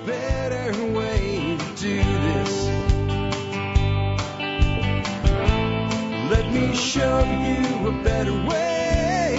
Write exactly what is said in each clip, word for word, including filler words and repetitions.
better way to do this. Let me show you a better way.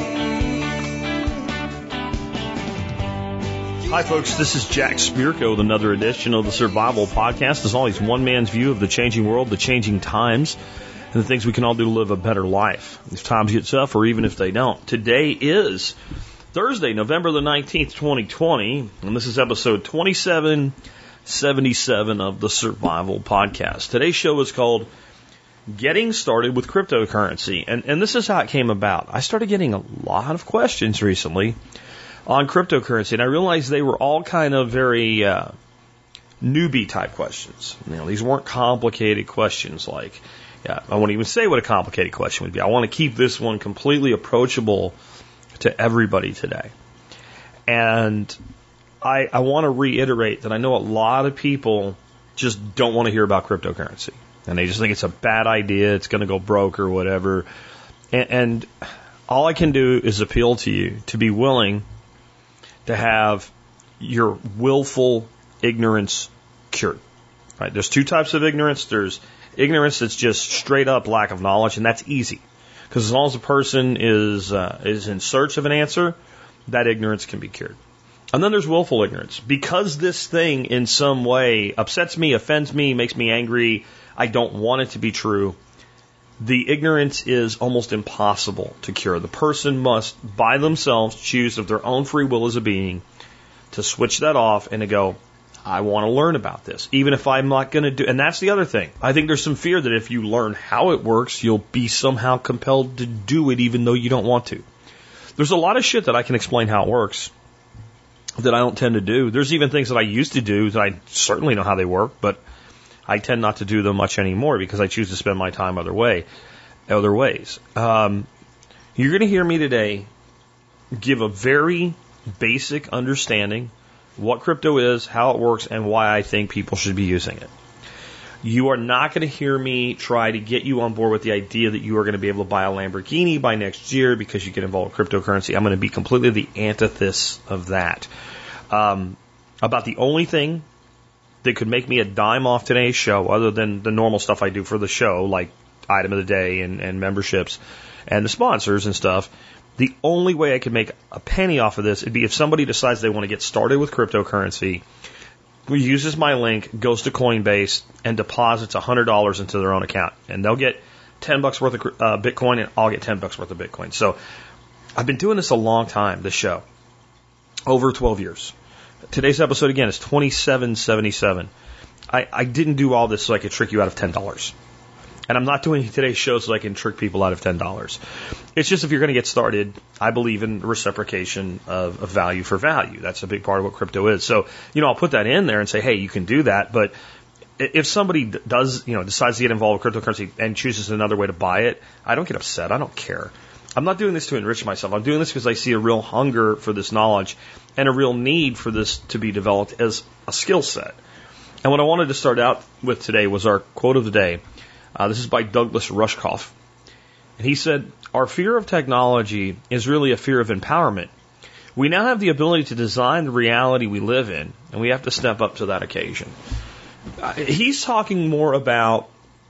Hi, folks. This is Jack Spirko with another edition of the Survival Podcast. As always, one man's view of the changing world, the changing times, and the things we can all do to live a better life. If times get tough, or even if they don't. Today is Thursday, November the nineteenth, twenty twenty, and this is episode twenty-seven seventy-seven of the Survival Podcast. Today's show is called Getting Started with Cryptocurrency, and, and this is how it came about. I started getting a lot of questions recently on cryptocurrency, and I realized they were all kind of very uh, newbie type questions. You know, these weren't complicated questions like, yeah, I won't even say what a complicated question would be. I want to keep this one completely approachable to everybody today. And I, I want to reiterate that I know a lot of people just don't want to hear about cryptocurrency. And they just think it's a bad idea, it's going to go broke or whatever. And, and all I can do is appeal to you to be willing to have your willful ignorance cured. Right? There's two types of ignorance. There's ignorance that's just straight up lack of knowledge, and that's easy. Because as long as a person is uh, is in search of an answer, that ignorance can be cured. And then there's willful ignorance. Because this thing in some way upsets me, offends me, makes me angry, I don't want it to be true, the ignorance is almost impossible to cure. The person must, by themselves, choose of their own free will as a being to switch that off and to go, I want to learn about this, even if I'm not going to do. And that's the other thing. I think there's some fear that if you learn how it works, you'll be somehow compelled to do it even though you don't want to. There's a lot of shit that I can explain how it works that I don't tend to do. There's even things that I used to do that I certainly know how they work, but I tend not to do them much anymore because I choose to spend my time other way, other ways. Um, you're going to hear me today give a very basic understanding what crypto is, how it works, and why I think people should be using it. You are not going to hear me try to get you on board with the idea that you are going to be able to buy a Lamborghini by next year because you get involved with cryptocurrency. I'm going to be completely the antithesis of that. Um, about the only thing that could make me a dime off today's show, other than the normal stuff I do for the show, like item of the day and, and memberships and the sponsors and stuff, the only way I could make a penny off of this would be if somebody decides they want to get started with cryptocurrency, uses my link, goes to Coinbase, and deposits one hundred dollars into their own account. And they'll get ten bucks worth of uh, Bitcoin, and I'll get ten bucks worth of Bitcoin. So I've been doing this a long time, this show, over twelve years. Today's episode, again, is twenty-seven seventy-seven. I, I didn't do all this so I could trick you out of ten dollars. And I'm not doing today's show so I can trick people out of ten dollars. It's just if you're going to get started, I believe in reciprocation of, of value for value. That's a big part of what crypto is. So, you know, I'll put that in there and say, hey, you can do that. But if somebody does, you know, decides to get involved with cryptocurrency and chooses another way to buy it, I don't get upset. I don't care. I'm not doing this to enrich myself. I'm doing this because I see a real hunger for this knowledge and a real need for this to be developed as a skill set. And what I wanted to start out with today was our quote of the day. Uh, this is by Douglas Rushkoff. And he said, our fear of technology is really a fear of empowerment. We now have the ability to design the reality we live in, and we have to step up to that occasion. Uh, he's talking more about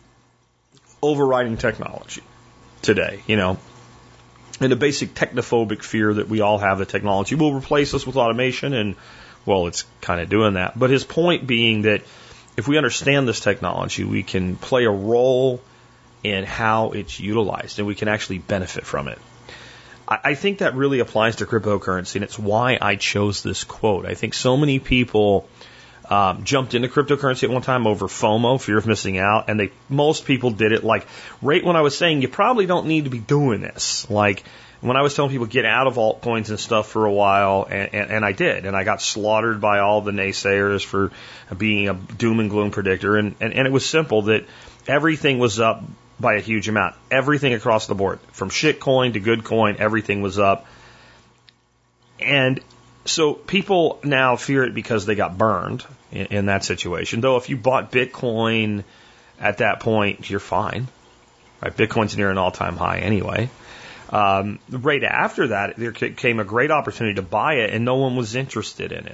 overriding technology today, you know, and a basic technophobic fear that we all have that technology will replace us with automation, and, well, it's kind of doing that. But his point being that if we understand this technology, we can play a role in how it's utilized, and we can actually benefit from it. I, I think that really applies to cryptocurrency, and it's why I chose this quote. I think so many people um, jumped into cryptocurrency at one time over FOMO, fear of missing out, and they most people did it like right when I was saying you probably don't need to be doing this. Like when I was telling people get out of altcoins and stuff for a while, and, and, and I did, and I got slaughtered by all the naysayers for being a doom and gloom predictor, and, and, and it was simple that everything was up by a huge amount. Everything across the board, from shitcoin to good coin, everything was up. And so people now fear it because they got burned in, in that situation. Though if you bought Bitcoin at that point, you're fine. Right? Bitcoin's near an all-time high anyway. Um, right after that, there came a great opportunity to buy it, and no one was interested in it.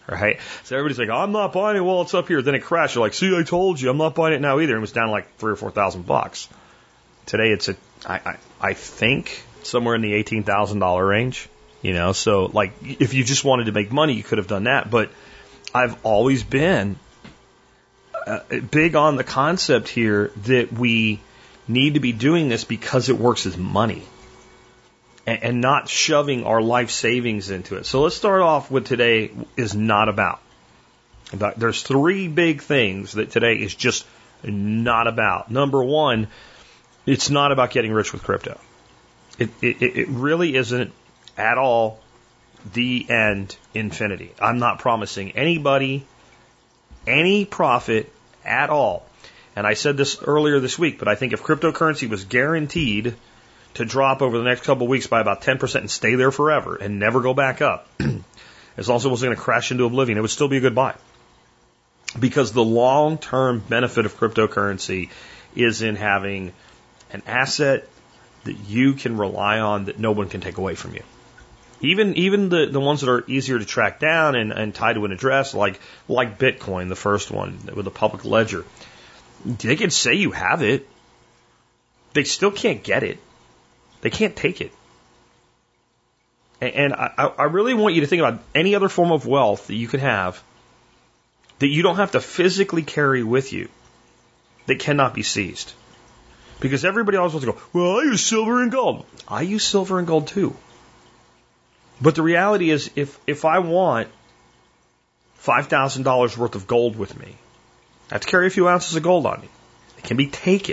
right? So everybody's like, I'm not buying it while it's up here. Then it crashed. You're like, see, I told you, I'm not buying it now either. It was down like three or four thousand bucks. Today it's a, I, I, I think somewhere in the eighteen thousand dollar range. You know, so like if you just wanted to make money, you could have done that. But I've always been uh, big on the concept here that we need to be doing this because it works as money and, and not shoving our life savings into it. So let's start off with today is not about. about. There's three big things that today is just not about. Number one, it's not about getting rich with crypto. It, it, it really isn't at all the end infinity. I'm not promising anybody any profit at all. And I said this earlier this week, but I think if cryptocurrency was guaranteed to drop over the next couple of weeks by about ten percent and stay there forever and never go back up, as long as it was going to crash into oblivion, it would still be a good buy. Because the long-term benefit of cryptocurrency is in having an asset that you can rely on that no one can take away from you. Even even the, the ones that are easier to track down and, and tied to an address, like like Bitcoin, the first one with a public ledger, they can say you have it. They still can't get it. They can't take it. And, and I, I really want you to think about any other form of wealth that you could have that you don't have to physically carry with you that cannot be seized. Because everybody always wants to go, well, I use silver and gold. I use silver and gold too. But the reality is, if, if I want five thousand dollars worth of gold with me, I have to carry a few ounces of gold on me. It can be taken.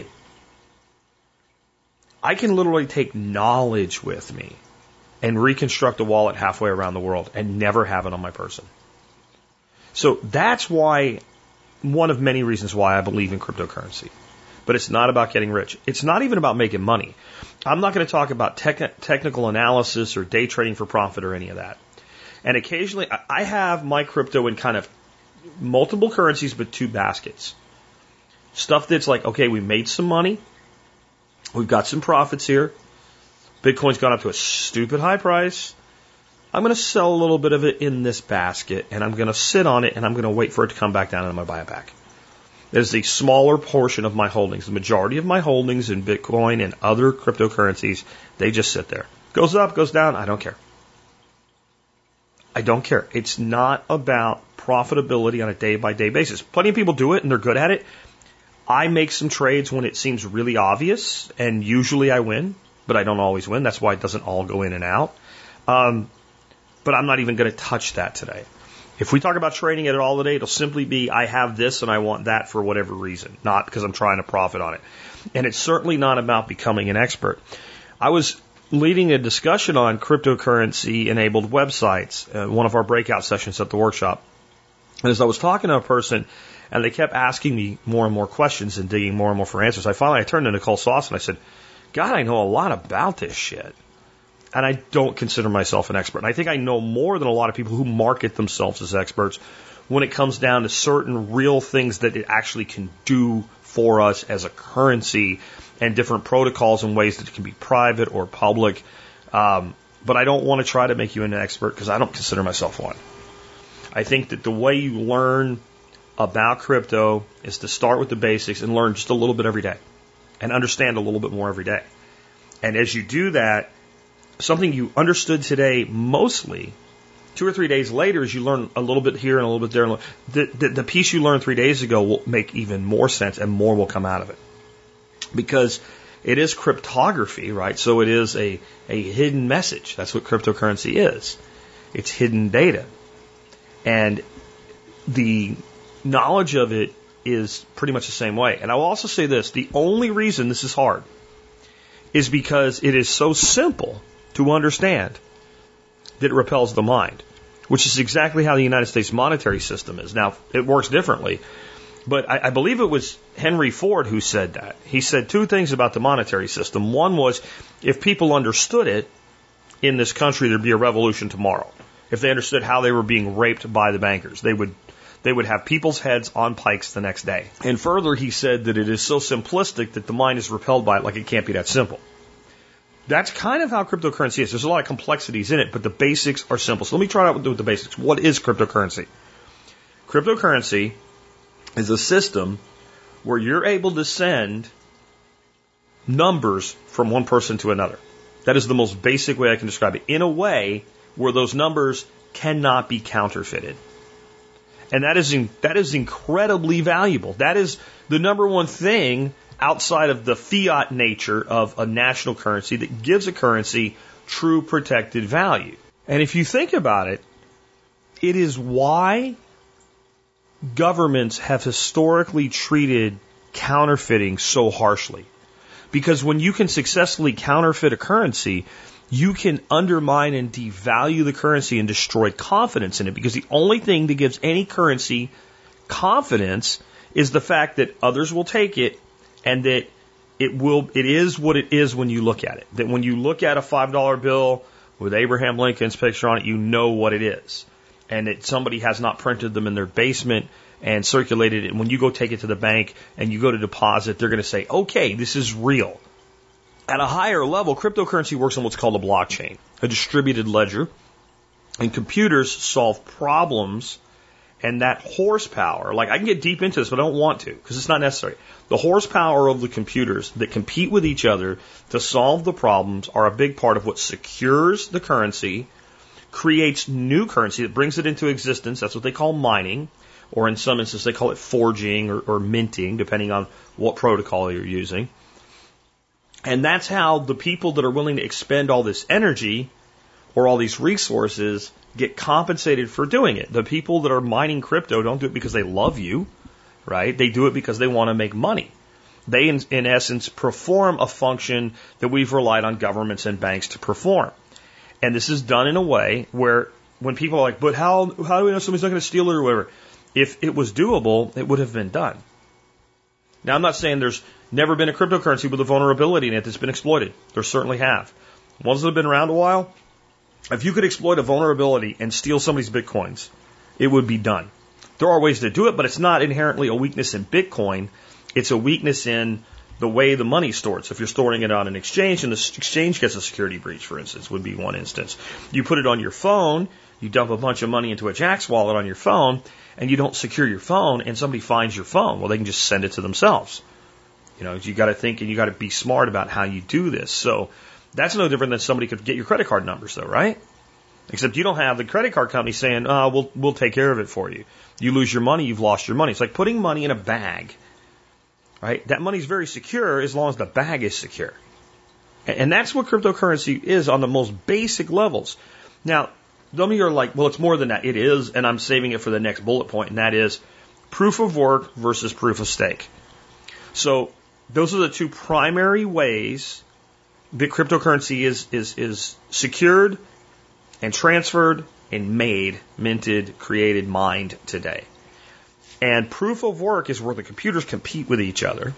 I can literally take knowledge with me and reconstruct a wallet halfway around the world and never have it on my person. So that's why, one of many reasons why I believe in cryptocurrency. But it's not about getting rich. It's not even about making money. I'm not going to talk about tech- technical analysis or day trading for profit or any of that. And occasionally, I have my crypto in kind of multiple currencies, but two baskets. Stuff that's like, okay, we made some money. We've got some profits here. Bitcoin's gone up to a stupid high price. I'm going to sell a little bit of it in this basket, and I'm going to sit on it, and I'm going to wait for it to come back down, and I'm going to buy it back. There's a smaller portion of my holdings. The majority of my holdings in Bitcoin and other cryptocurrencies, they just sit there. Goes up, goes down, I don't care. I don't care. It's not about profitability on a day-by-day basis. Plenty of people do it, and they're good at it. I make some trades when it seems really obvious, and usually I win, but I don't always win. That's why it doesn't all go in and out. Um, but I'm not even going to touch that today. If we talk about trading it at all today, it'll simply be I have this and I want that for whatever reason, not because I'm trying to profit on it. And it's certainly not about becoming an expert. I was leading a discussion on cryptocurrency-enabled websites, uh, one of our breakout sessions at the workshop. And as I was talking to a person, and they kept asking me more and more questions and digging more and more for answers, I finally I turned to Nicole Sauce and I said, God, I know a lot about this shit. And I don't consider myself an expert. And I think I know more than a lot of people who market themselves as experts when it comes down to certain real things that it actually can do for us as a currency and different protocols and ways that it can be private or public. Um, but I don't want to try to make you an expert because I don't consider myself one. I think that the way you learn about crypto is to start with the basics and learn just a little bit every day and understand a little bit more every day. And as you do that, something you understood today mostly, two or three days later, as you learn a little bit here and a little bit there, the, the, the piece you learned three days ago will make even more sense and more will come out of it. Because it is cryptography, right? So it is a, a hidden message. That's what cryptocurrency is. It's hidden data. And the knowledge of it is pretty much the same way. And I will also say this, the only reason this is hard is because it is so simple to understand that it repels the mind, which is exactly how the United States monetary system is. Now, it works differently, but I, I believe it was Henry Ford who said that. He said two things about the monetary system. One was, if people understood it in this country, there'd be a revolution tomorrow. If they understood how they were being raped by the bankers, they would they would have people's heads on pikes the next day. And further, he said that it is so simplistic that the mind is repelled by it, like it can't be that simple. That's kind of how cryptocurrency is. There's a lot of complexities in it, but the basics are simple. So let me try out with the basics. What is cryptocurrency? Cryptocurrency is a system where you're able to send numbers from one person to another. That is the most basic way I can describe it. In a way where those numbers cannot be counterfeited. And that is in, that is incredibly valuable. That is the number one thing outside of the fiat nature of a national currency that gives a currency true protected value. And if you think about it, it is why governments have historically treated counterfeiting so harshly. Because when you can successfully counterfeit a currency, you can undermine and devalue the currency and destroy confidence in it. Because the only thing that gives any currency confidence is the fact that others will take it and that it will, it is what it is when you look at it. That when you look at a five dollar bill with Abraham Lincoln's picture on it, you know what it is. And that somebody has not printed them in their basement and circulated it. And when you go take it to the bank and you go to deposit, they're going to say, okay, this is real. At a higher level, cryptocurrency works on what's called a blockchain, a distributed ledger. And computers solve problems, and that horsepower, like I can get deep into this, but I don't want to because it's not necessary. The horsepower of the computers that compete with each other to solve the problems are a big part of what secures the currency, creates new currency that brings it into existence. That's what they call mining. Or in some instances, they call it forging or, or minting, depending on what protocol you're using. And that's how the people that are willing to expend all this energy or all these resources get compensated for doing it. The people that are mining crypto don't do it because they love you, right? They do it because they want to make money. They, in, in essence, perform a function that we've relied on governments and banks to perform. And this is done in a way where when people are like, but how, how do we know somebody's not going to steal it or whatever? If it was doable, it would have been done. Now, I'm not saying there's never been a cryptocurrency with a vulnerability in it that's been exploited. There certainly have. Ones that have been around a while, if you could exploit a vulnerability and steal somebody's bitcoins, it would be done. There are ways to do it, but it's not inherently a weakness in Bitcoin. It's a weakness in the way the money's stored. So if you're storing it on an exchange and the exchange gets a security breach, for instance, would be one instance. You put it on your phone, you dump a bunch of money into a Jaxx wallet on your phone, and you don't secure your phone, and somebody finds your phone. Well, they can just send it to themselves. You know, you got to think and you got to be smart about how you do this. So that's no different than somebody could get your credit card numbers, though, right? Except you don't have the credit card company saying, "Oh, we'll we'll take care of it for you." You lose your money, you've lost your money. It's like putting money in a bag, right? That money's very secure as long as the bag is secure, and that's what cryptocurrency is on the most basic levels. Now, some of you are like, well, it's more than that. It is, and I'm saving it for the next bullet point, and that is proof of work versus proof of stake. So those are the two primary ways that cryptocurrency is is is secured and transferred and made, minted, created, mined today. And proof of work is where the computers compete with each other.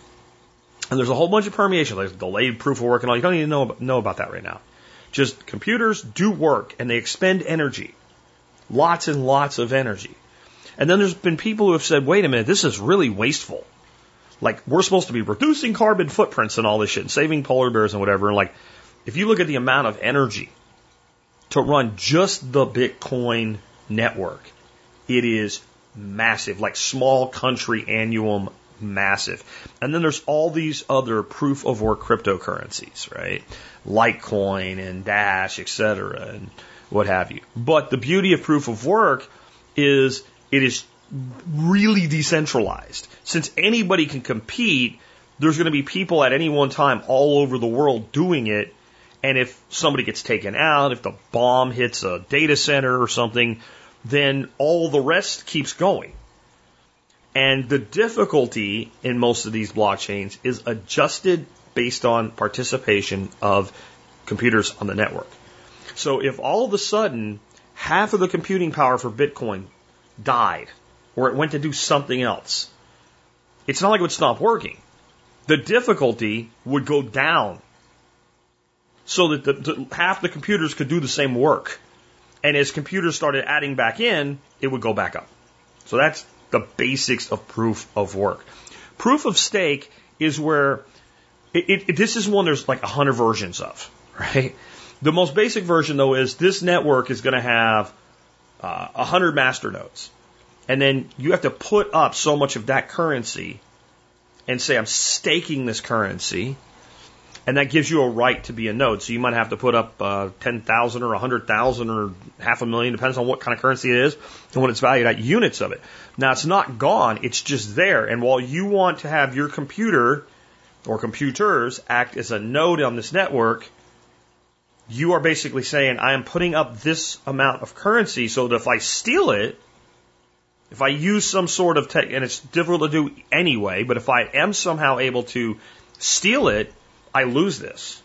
And there's a whole bunch of permeation. There's delayed proof of work and all. You don't even know, know about that right now. Just computers do work and they expend energy. Lots and lots of energy. And then there's been people who have said, wait a minute, this is really wasteful. Like, we're supposed to be reducing carbon footprints and all this shit and saving polar bears and whatever. And like, if you look at the amount of energy to run just the Bitcoin network, it is massive, like small country annuum massive. And then there's all these other proof of work cryptocurrencies, right? Litecoin and Dash, et cetera, and what have you. But the beauty of proof of work is it is really decentralized. Since anybody can compete, there's going to be people at any one time all over the world doing it. And if somebody gets taken out, if the bomb hits a data center or something, then all the rest keeps going. And the difficulty in most of these blockchains is adjusted based on participation of computers on the network. So if all of a sudden half of the computing power for Bitcoin died, or it went to do something else, it's not like it would stop working. The difficulty would go down so that the, the, half the computers could do the same work. And as computers started adding back in, it would go back up. So that's the basics of proof of work. Proof of stake is where it, it, this is one there's like a hundred versions of, right? The most basic version, though, is this network is going to have uh, a hundred master nodes. And then you have to put up so much of that currency and say, I'm staking this currency. And that gives you a right to be a node. So you might have to put up uh, ten thousand or one hundred thousand or half a million, depends on what kind of currency it is and what it's valued at, units of it. Now, it's not gone. It's just there. And while you want to have your computer or computers act as a node on this network, you are basically saying, I am putting up this amount of currency so that if I steal it, if I use some sort of tech, and it's difficult to do anyway, but if I am somehow able to steal it, I lose this.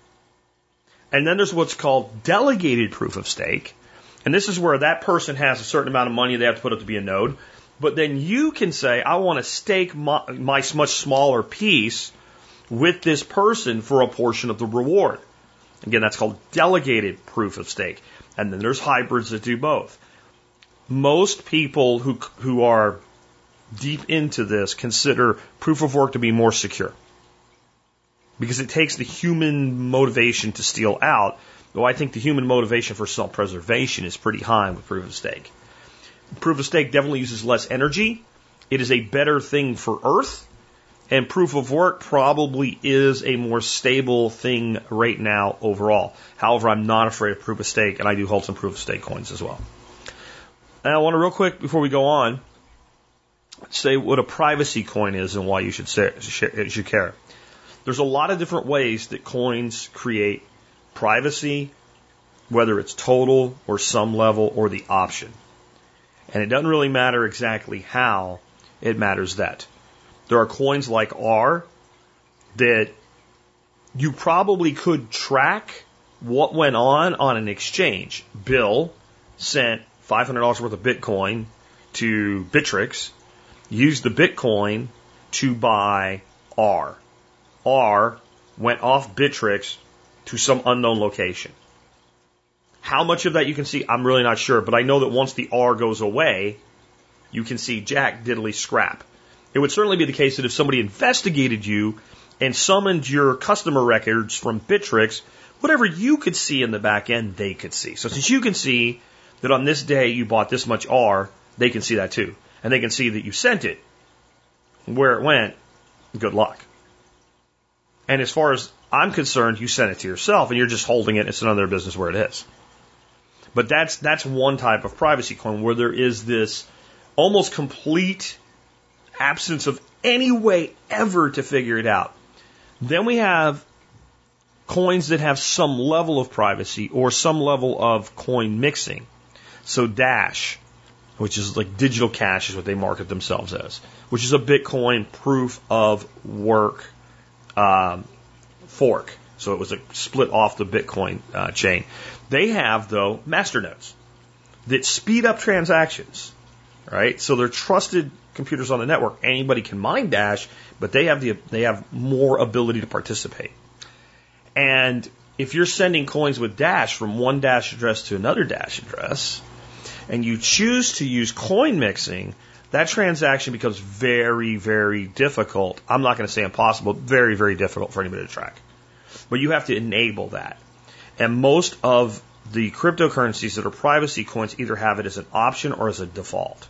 And then there's what's called delegated proof of stake. And this is where that person has a certain amount of money they have to put up to be a node. But then you can say, I want to stake my, my much smaller piece with this person for a portion of the reward. Again, that's called delegated proof of stake. And then there's hybrids that do both. Most people who, who are deep into this consider proof of work to be more secure, because it takes the human motivation to steal out, though I think the human motivation for self-preservation is pretty high with proof of stake. Proof of stake definitely uses less energy. It is a better thing for Earth, and proof of work probably is a more stable thing right now overall. However, I'm not afraid of proof of stake, and I do hold some proof of stake coins as well. And I want to real quick, before we go on, say what a privacy coin is and why you should, say, should care. There's a lot of different ways that coins create privacy, whether it's total or some level or the option. And it doesn't really matter exactly how, it matters that. There are coins like R that you probably could track what went on on an exchange. Bill sent five hundred dollars worth of Bitcoin to Bittrex, used the Bitcoin to buy R. R went off Bittrex to some unknown location. How much of that you can see, I'm really not sure, but I know that once the R goes away, you can see jack diddly scrap. It would certainly be the case that if somebody investigated you and summoned your customer records from Bittrex, whatever you could see in the back end, they could see. So since you can see that on this day you bought this much R, they can see that too. And they can see that you sent it. Where it went, good luck. And as far as I'm concerned, you sent it to yourself and you're just holding it. It's none of their business where it is. But that's that's one type of privacy coin where there is this almost complete absence of any way ever to figure it out. Then we have coins that have some level of privacy or some level of coin mixing. So Dash, which is like digital cash is what they market themselves as, which is a Bitcoin proof of work um, fork. So it was a split off the Bitcoin uh, chain. They have, though, masternodes that speed up transactions, right? So they're trusted computers on the network. Anybody can mine Dash, but they have the they have more ability to participate. And if you're sending coins with Dash from one Dash address to another Dash address, and you choose to use coin mixing, that transaction becomes very, very difficult. I'm not going to say impossible, very, very difficult for anybody to track. But you have to enable that. And most of the cryptocurrencies that are privacy coins either have it as an option or as a default.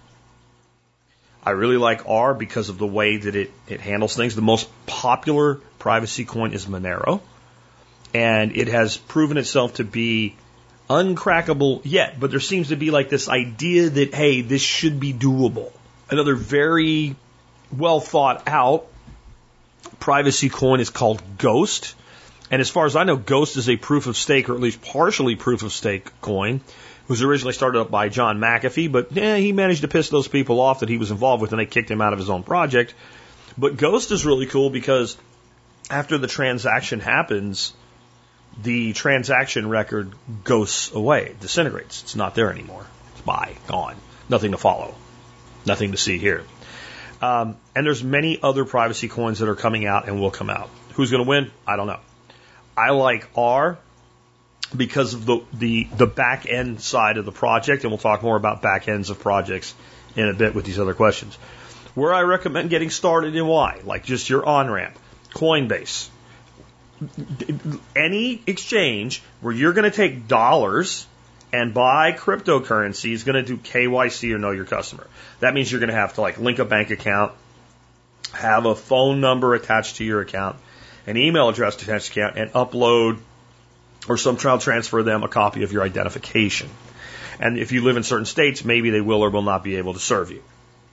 I really like R because of the way that it, it handles things. The most popular privacy coin is Monero. And it has proven itself to be uncrackable yet. But there seems to be like this idea that, hey, this should be doable. Another very well thought out privacy coin is called Ghost. And as far as I know, Ghost is a proof of stake, or at least partially proof of stake coin. It was originally started up by John McAfee, but eh, he managed to piss those people off that he was involved with, and they kicked him out of his own project. But Ghost is really cool because after the transaction happens, the transaction record goes away, disintegrates. It's not there anymore. It's bye, gone. Nothing to follow. Nothing to see here. Um, and there's many other privacy coins that are coming out and will come out. Who's going to win? I don't know. I like R because of the, the, the back end side of the project, and we'll talk more about back ends of projects in a bit with these other questions. Where I recommend getting started and why, like just your on-ramp, Coinbase. Any exchange where you're going to take dollars and buy cryptocurrency is going to do K Y C or know your customer. That means you're going to have to like link a bank account, have a phone number attached to your account, an email address attached to your account, and upload or some child transfer them a copy of your identification. And if you live in certain states, maybe they will or will not be able to serve you.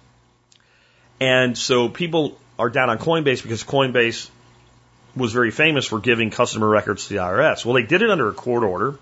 And so people are down on Coinbase because Coinbase was very famous for giving customer records to the I R S. Well, they did it under a court order.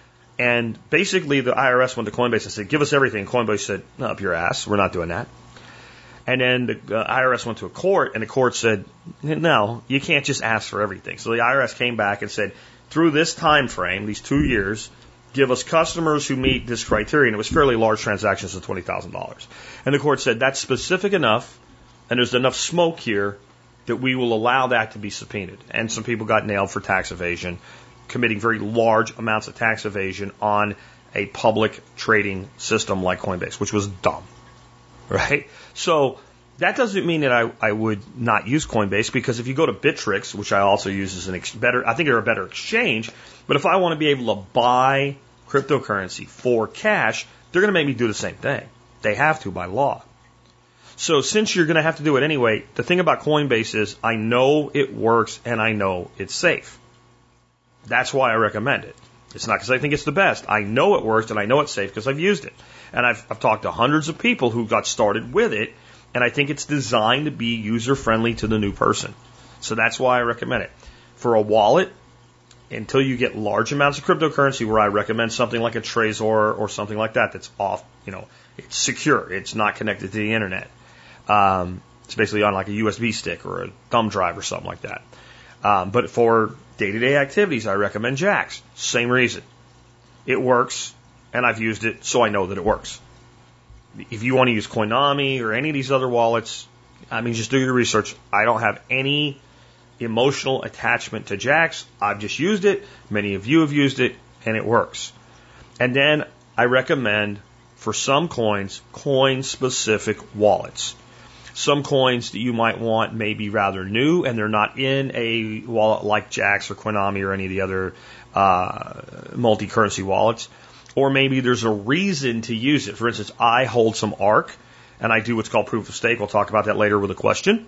And basically the I R S went to Coinbase and said, give us everything. And Coinbase said, no, up your ass. We're not doing that. And then the uh, I R S went to a court, and the court said, no, you can't just ask for everything. So the I R S came back and said, through this time frame, these two years, give us customers who meet this criteria. And it was fairly large transactions of twenty thousand dollars. And the court said, that's specific enough, and there's enough smoke here that we will allow that to be subpoenaed. And some people got nailed for tax evasion, committing very large amounts of tax evasion on a public trading system like Coinbase, which was dumb, right? So that doesn't mean that I, I would not use Coinbase, because if you go to Bittrex, which I also use as an ex- better, I think they're a better exchange, but if I want to be able to buy cryptocurrency for cash, they're going to make me do the same thing. They have to by law. So since you're going to have to do it anyway, the thing about Coinbase is I know it works and I know it's safe. That's why I recommend it. It's not because I think it's the best. I know it works and I know it's safe because I've used it. And I've, I've talked to hundreds of people who got started with it, and I think it's designed to be user-friendly to the new person. So that's why I recommend it. For a wallet, until you get large amounts of cryptocurrency, where I recommend something like a Trezor or something like that that's off, you know, it's secure. It's not connected to the internet. Um, it's basically on like a U S B stick or a thumb drive or something like that. Um, but for day-to-day activities, I recommend Jaxx. Same reason. It works, and I've used it, so I know that it works. If you want to use Coinami or any of these other wallets, I mean, just do your research. I don't have any emotional attachment to Jaxx. I've just used it. Many of you have used it, and it works. And then I recommend, for some coins, coin-specific wallets. Some coins that you might want may be rather new, and they're not in a wallet like Jaxx or Coinami or any of the other uh, multi-currency wallets. Or maybe there's a reason to use it. For instance, I hold some ARK, and I do what's called proof of stake. We'll talk about that later with a question.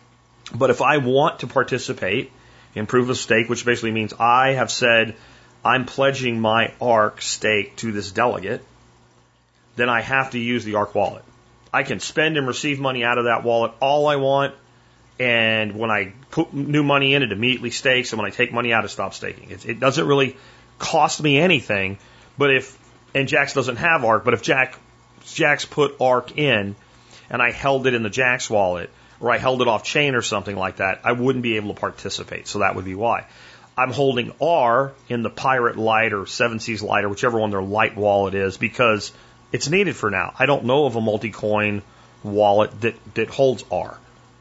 But if I want to participate in proof of stake, which basically means I have said I'm pledging my ARK stake to this delegate, then I have to use the ARK wallet. I can spend and receive money out of that wallet all I want, and when I put new money in, it immediately stakes, and when I take money out, it stops staking. It, it doesn't really cost me anything, but if, and Jaxx doesn't have ARK, but if Jack, Jaxx put ARK in, and I held it in the Jaxx wallet, or I held it off chain or something like that, I wouldn't be able to participate, so that would be why. I'm holding R in the Pirate Lite or Seven Seas Lite or whichever one their light wallet is, because it's needed for now. I don't know of a multi-coin wallet that, that holds R.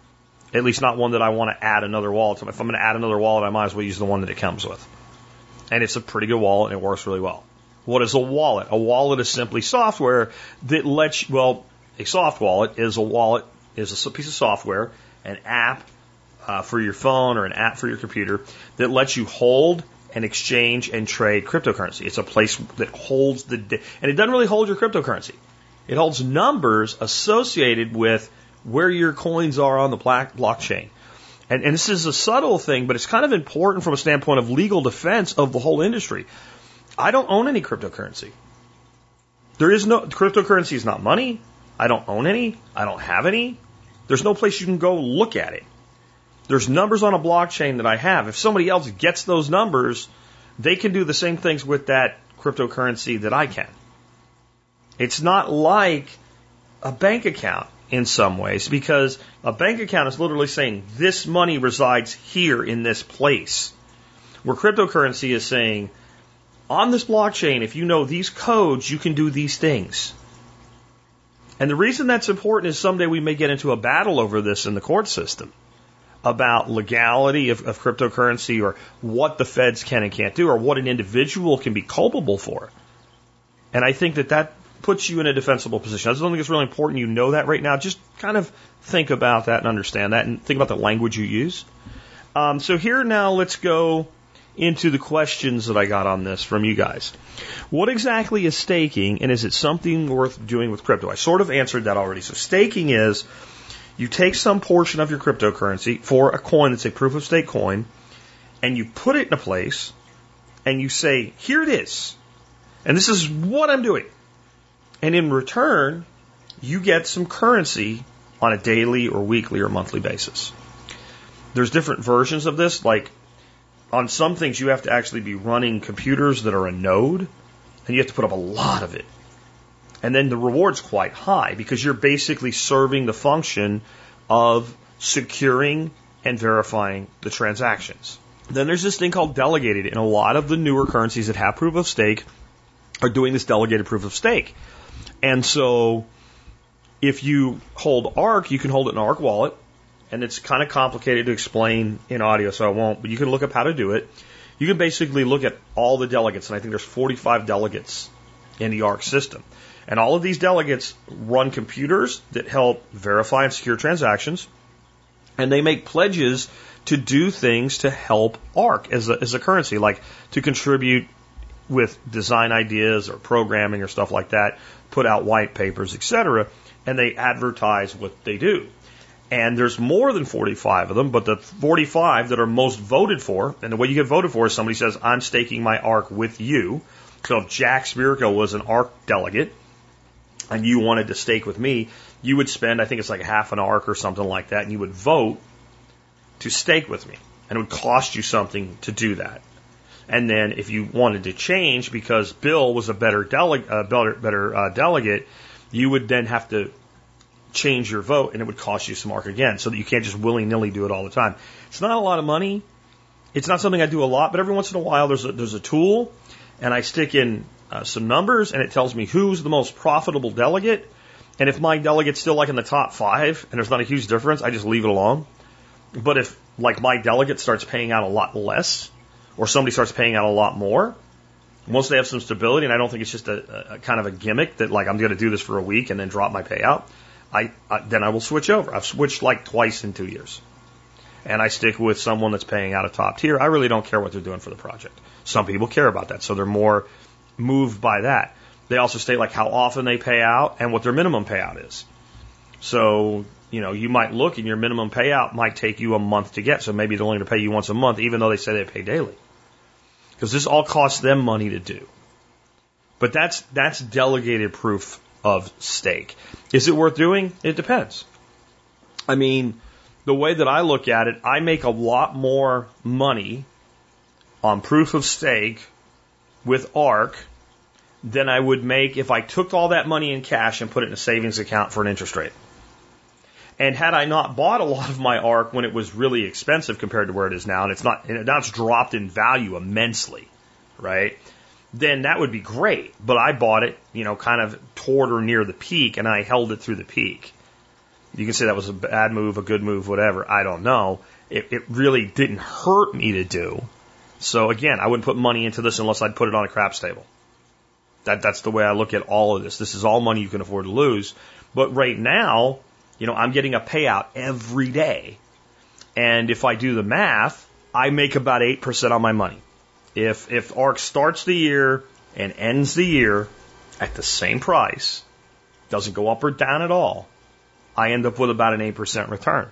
At least not one that I want to add another wallet to. If I'm going to add another wallet, I might as well use the one that it comes with. And it's a pretty good wallet, and it works really well. What is a wallet? A wallet is simply software that lets you, well, a soft wallet is a wallet, is a piece of software, an app uh, for your phone or an app for your computer that lets you hold and exchange and trade cryptocurrency. It's a place that holds the, and it doesn't really hold your cryptocurrency. It holds numbers associated with where your coins are on the blockchain. And, and this is a subtle thing, but it's kind of important from a standpoint of legal defense of the whole industry. I don't own any cryptocurrency. There is no, cryptocurrency is not money. I don't own any. I don't have any. There's no place you can go look at it. There's numbers on a blockchain that I have. If somebody else gets those numbers, they can do the same things with that cryptocurrency that I can. It's not like a bank account in some ways, because a bank account is literally saying this money resides here in this place. Where cryptocurrency is saying, on this blockchain, if you know these codes, you can do these things. And the reason that's important is someday we may get into a battle over this in the court system about legality of, of cryptocurrency, or what the feds can and can't do, or what an individual can be culpable for. And I think that that puts you in a defensible position. I just don't think it's really important you know that right now. Just kind of think about that and understand that, and think about the language you use. Um, so here now, let's go into the questions that I got on this from you guys. What exactly is staking, and is it something worth doing with crypto? I sort of answered that already. So staking is you take some portion of your cryptocurrency for a coin that's a proof of stake coin, and you put it in a place, and you say, here it is, and this is what I'm doing. And in return, you get some currency on a daily or weekly or monthly basis. There's different versions of this, like on some things you have to actually be running computers that are a node, and you have to put up a lot of it. And then the reward's quite high because you're basically serving the function of securing and verifying the transactions. Then there's this thing called delegated, and a lot of the newer currencies that have proof of stake are doing this delegated proof of stake. And so if you hold ARK, you can hold it in an ARK wallet, and it's kind of complicated to explain in audio, so I won't, but you can look up how to do it. You can basically look at all the delegates, and I think there's forty-five delegates in the ARK system. And all of these delegates run computers that help verify and secure transactions, and they make pledges to do things to help ARK as a, as a currency, like to contribute with design ideas or programming or stuff like that, put out white papers, et cetera, and they advertise what they do. And there's more than forty-five of them, but the forty-five that are most voted for, and the way you get voted for is somebody says, I'm staking my ARK with you. So if Jack Spirko was an ARK delegate, and you wanted to stake with me, you would spend, I think it's like half an ARK or something like that, and you would vote to stake with me. And it would cost you something to do that. And then if you wanted to change because Bill was a better, dele- uh, better, better uh, delegate, you would then have to change your vote, and it would cost you some ARK again, so that you can't just willy-nilly do it all the time. It's not a lot of money. It's not something I do a lot, but every once in a while there's a, there's a tool, and I stick in uh, some numbers, and it tells me who's the most profitable delegate. And if my delegate's still like in the top five, and there's not a huge difference, I just leave it alone. But if like my delegate starts paying out a lot less, or somebody starts paying out a lot more, once they have some stability, and I don't think it's just a, a kind of a gimmick that like I'm going to do this for a week and then drop my payout, I, I then I will switch over. I've switched like twice in two years. And I stick with someone that's paying out a top tier. I really don't care what they're doing for the project. Some people care about that, so they're more moved by that. They also state like how often they pay out and what their minimum payout is. So, you know, you might look and your minimum payout might take you a month to get. So maybe they're only going to pay you once a month, even though they say they pay daily. Because this all costs them money to do. But that's that's delegated proof of stake. Is it worth doing? It depends. I mean, the way that I look at it, I make a lot more money on proof of stake with ARK than I would make if I took all that money in cash and put it in a savings account for an interest rate. And had I not bought a lot of my ARK when it was really expensive compared to where it is now, and it's not, and now it's dropped in value immensely, right? Then that would be great. But I bought it, you know, kind of toward or near the peak, and I held it through the peak. You can say that was a bad move, a good move, whatever. I don't know. It, it really didn't hurt me to do. So again, I wouldn't put money into this unless I'd put it on a craps table. That, that's the way I look at all of this. This is all money you can afford to lose. But right now, you know, I'm getting a payout every day. And if I do the math, I make about eight percent on my money. If, if ARK starts the year and ends the year at the same price, doesn't go up or down at all, I end up with about an eight percent return.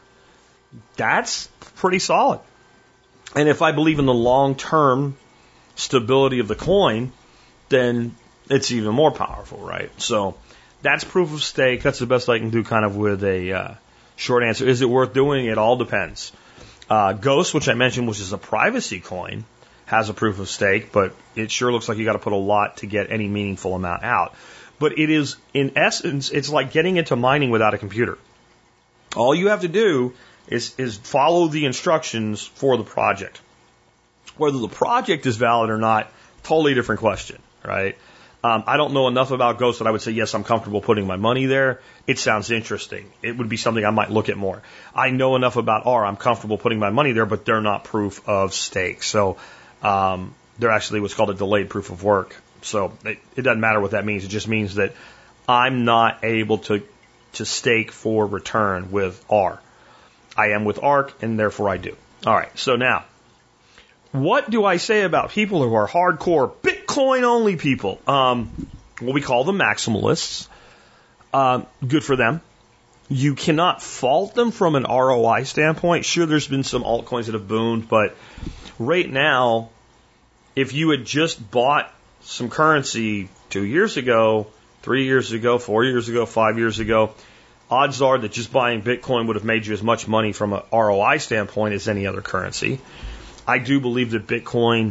That's pretty solid. And if I believe in the long-term stability of the coin, then it's even more powerful, right? So that's proof of stake. That's the best I can do kind of with a uh, short answer. Is it worth doing? It all depends. Uh, Ghost, which I mentioned, which is a privacy coin, has a proof of stake, but it sure looks like you got to put a lot to get any meaningful amount out. But it is, in essence, it's like getting into mining without a computer. All you have to do is, is follow the instructions for the project. Whether the project is valid or not, totally different question, right? Um, I don't know enough about Ghost that I would say, yes, I'm comfortable putting my money there. It sounds interesting. It would be something I might look at more. I know enough about R. I'm comfortable putting my money there, but they're not proof of stake. So um, they're actually what's called a delayed proof of work. So it, it doesn't matter what that means. It just means that I'm not able to, to stake for return with R. I am with ARK, and therefore I do. All right, so now, what do I say about people who are hardcore Bitcoin only people? Um, well, we call them maximalists. Um, good for them. You cannot fault them from an R O I standpoint. Sure, there's been some altcoins that have boomed, but right now, if you had just bought some currency two years ago, three years ago, four years ago, five years ago, odds are that just buying Bitcoin would have made you as much money from an R O I standpoint as any other currency. I do believe that Bitcoin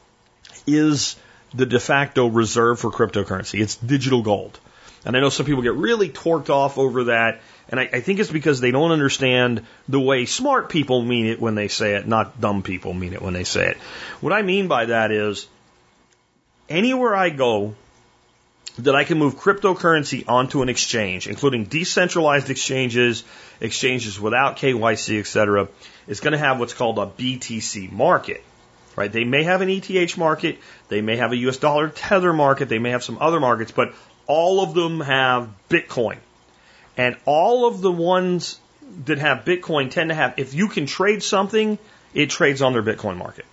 is the de facto reserve for cryptocurrency. It's digital gold. And I know some people get really torqued off over that, and I, I think it's because they don't understand the way smart people mean it when they say it, not dumb people mean it when they say it. What I mean by that is, anywhere I go that I can move cryptocurrency onto an exchange, including decentralized exchanges, exchanges without K Y C, et cetera, is going to have what's called a B T C market. Right? They may have an E T H market, they may have a U S dollar tether market, they may have some other markets, but all of them have Bitcoin. And all of the ones that have Bitcoin tend to have, if you can trade something, it trades on their Bitcoin market.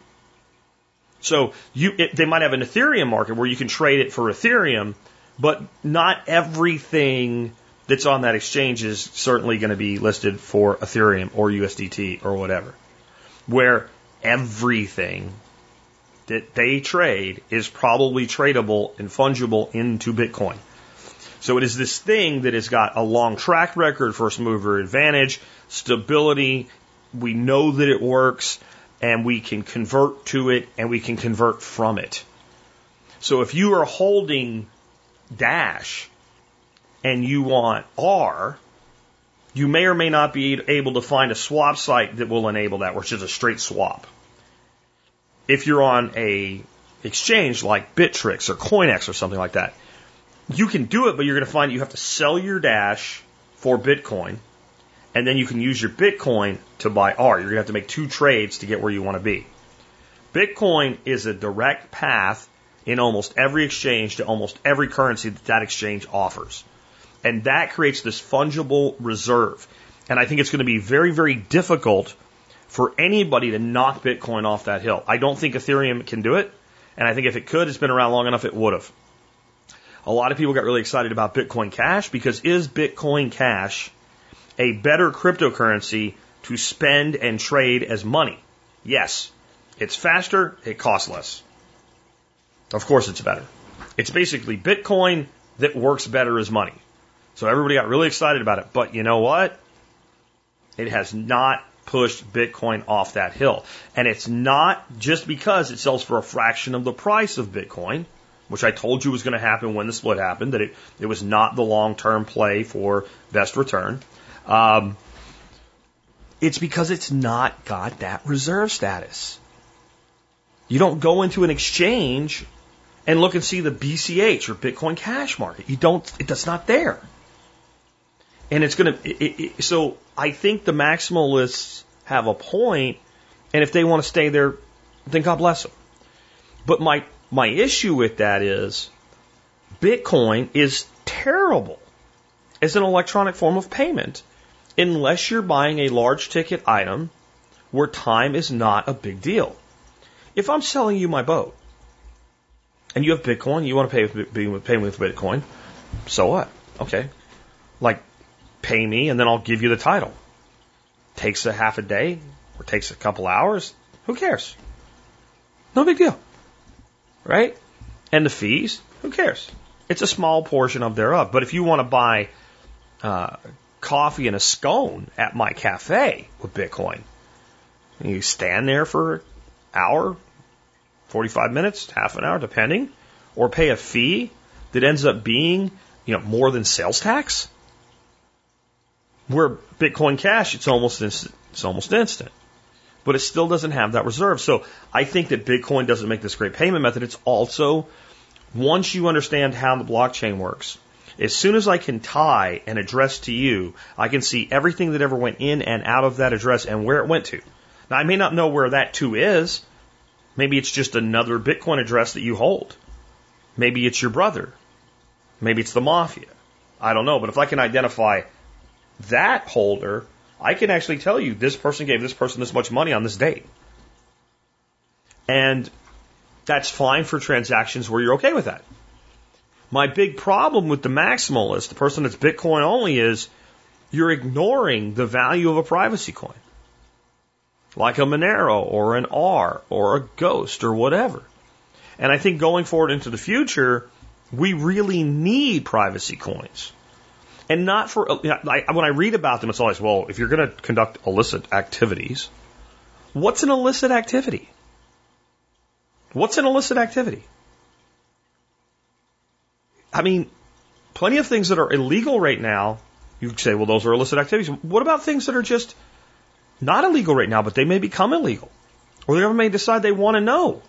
So you, it, they might have an Ethereum market where you can trade it for Ethereum, but not everything that's on that exchange is certainly going to be listed for Ethereum or U S D T or whatever. Where everything that they trade is probably tradable and fungible into Bitcoin. So it is this thing that has got a long track record, first mover advantage, stability. We know that it works, and we can convert to it, and we can convert from it. So if you are holding Dash and you want R, you may or may not be able to find a swap site that will enable that, which is a straight swap. If you're on a exchange like Bittrex or CoinEx or something like that, you can do it, but you're going to find you have to sell your Dash for Bitcoin, and then you can use your Bitcoin to buy R. You're going to have to make two trades to get where you want to be. Bitcoin is a direct path in almost every exchange to almost every currency that that exchange offers. And that creates this fungible reserve. And I think it's going to be very, very difficult for anybody to knock Bitcoin off that hill. I don't think Ethereum can do it. And I think if it could, it's been around long enough, it would have. A lot of people got really excited about Bitcoin Cash because is Bitcoin Cash a better cryptocurrency to spend and trade as money? Yes. It's faster, it costs less. Of course it's better. It's basically Bitcoin that works better as money. So everybody got really excited about it. But you know what? It has not pushed Bitcoin off that hill. And it's not just because it sells for a fraction of the price of Bitcoin, which I told you was going to happen when the split happened, that it, it was not the long-term play for best return. Um, it's because it's not got that reserve status. You don't go into an exchange and look and see the B C H or Bitcoin Cash market. You don't, it, that's not there. And it's going to, so I think the maximalists have a point, and if they want to stay there, then God bless them. But my, my issue with that is Bitcoin is terrible as an electronic form of payment unless you're buying a large ticket item where time is not a big deal. If I'm selling you my boat and you have Bitcoin, you want to pay with, pay with Bitcoin, so what? Okay. Like, pay me and then I'll give you the title. Takes a half a day or takes a couple hours. Who cares? No big deal. Right? And the fees, who cares? It's a small portion of thereof. But if you want to buy uh, coffee and a scone at my cafe with Bitcoin, you stand there for an hour, forty-five minutes, half an hour, depending, or pay a fee that ends up being, you know, more than sales tax. Where Bitcoin Cash, it's almost instant, it's almost instant. But it still doesn't have that reserve. So I think that Bitcoin doesn't make this great payment method. It's also, once you understand how the blockchain works, as soon as I can tie an address to you, I can see everything that ever went in and out of that address and where it went to. Now, I may not know where that to is. Maybe it's just another Bitcoin address that you hold. Maybe it's your brother. Maybe it's the mafia. I don't know. But if I can identify that holder, I can actually tell you this person gave this person this much money on this date. And that's fine for transactions where you're okay with that. My big problem with the maximalist, the person that's Bitcoin only, is you're ignoring the value of a privacy coin. Like a Monero or an R or a Ghost or whatever. And I think going forward into the future, we really need privacy coins. And not for, you know, I, when I read about them, it's always, well, if you're going to conduct illicit activities, what's an illicit activity? What's an illicit activity? I mean, plenty of things that are illegal right now, you could say, well, those are illicit activities. What about things that are just not illegal right now, but they may become illegal? Or the government may decide they want to know.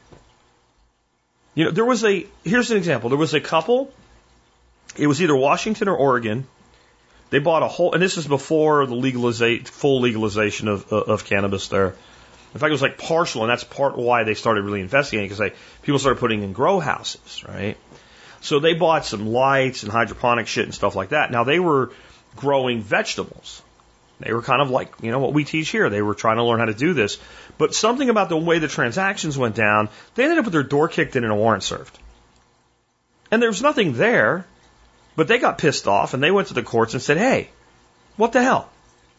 You know, there was a, here's an example. There was a couple, it was either Washington or Oregon. They bought a whole, and this is before the legalization, full legalization of, of cannabis there. In fact, it was like partial, and that's part why they started really investigating, because they, people started putting in grow houses, right? So they bought some lights and hydroponic shit and stuff like that. Now they were growing vegetables. They were kind of like, you know, what we teach here. They were trying to learn how to do this. But something about the way the transactions went down, they ended up with their door kicked in and a warrant served. And there was nothing there, but they got pissed off and they went to the courts and said, hey, what the hell?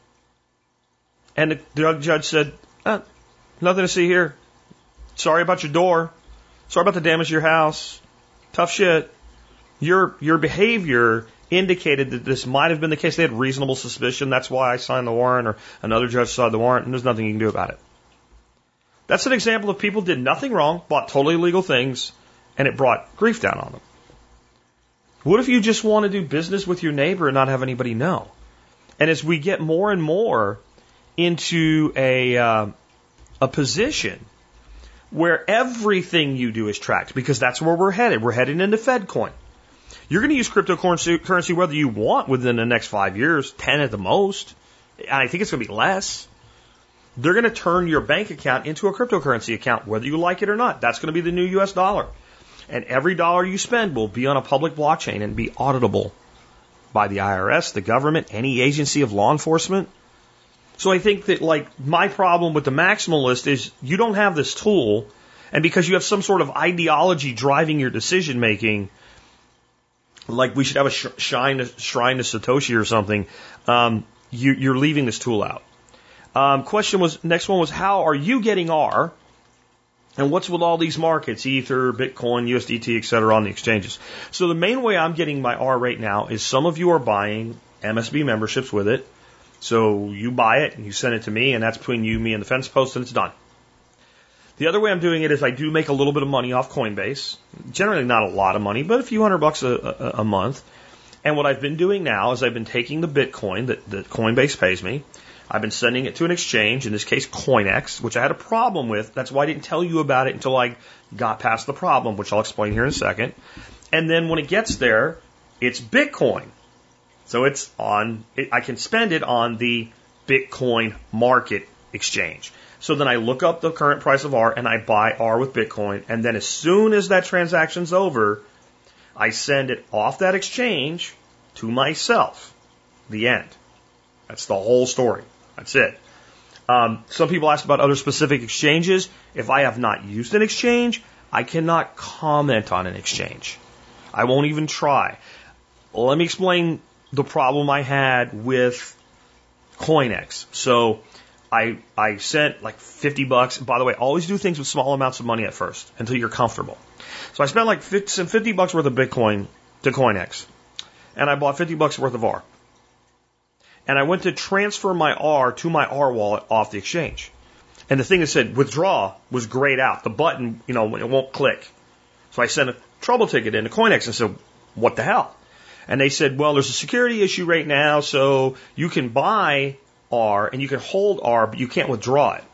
And the, the judge said, eh, nothing to see here. Sorry about your door. Sorry about the damage to your house. Tough shit. Your your behavior indicated that this might have been the case. They had reasonable suspicion. That's why I signed the warrant, or another judge signed the warrant, and there's nothing you can do about it. That's an example of people did nothing wrong, bought totally illegal things, and it brought grief down on them. What if you just want to do business with your neighbor and not have anybody know? And as we get more and more into a uh, a position where everything you do is tracked, because that's where we're headed. We're heading into FedCoin. You're going to use cryptocurrency whether you want within the next five years, ten at the most. I think it's going to be less. They're going to turn your bank account into a cryptocurrency account, whether you like it or not. That's going to be the new U S dollar. And every dollar you spend will be on a public blockchain and be auditable by the I R S, the government, any agency of law enforcement. So I think that, like, my problem with the maximalist is you don't have this tool, and because you have some sort of ideology driving your decision making, like we should have a sh- shrine, shrine to Satoshi or something, um, you, you're leaving this tool out. Um, question was, next one was, how are you getting R? And what's with all these markets, Ether, Bitcoin, U S D T, et cetera, on the exchanges? So the main way I'm getting my R right now is some of you are buying M S B memberships with it. So you buy it and you send it to me, and that's between you, me, and the fence post, and it's done. The other way I'm doing it is I do make a little bit of money off Coinbase. Generally not a lot of money, but a few hundred bucks a, a, a month. And what I've been doing now is I've been taking the Bitcoin that, that Coinbase pays me. I've been sending it to an exchange, in this case CoinEx, which I had a problem with. That's why I didn't tell you about it until I got past the problem, which I'll explain here in a second. And then when it gets there, it's Bitcoin. So it's on, it, I can spend it on the Bitcoin market exchange. So then I look up the current price of R and I buy R with Bitcoin. And then as soon as that transaction's over, I send it off that exchange to myself. The end. That's the whole story. That's it. Um, some people asked about other specific exchanges. If I have not used an exchange, I cannot comment on an exchange. I won't even try. Well, let me explain the problem I had with CoinEx. So I I sent like fifty bucks. By the way, always do things with small amounts of money at first until you're comfortable. So I spent like fifty bucks worth of Bitcoin to CoinEx, and I bought fifty bucks worth of R. And I went to transfer my R to my R wallet off the exchange. And the thing that said withdraw was grayed out. The button, you know, it won't click. So I sent a trouble ticket into CoinEx and said, what the hell? And they said, well, there's a security issue right now, so you can buy R and you can hold R, but you can't withdraw it.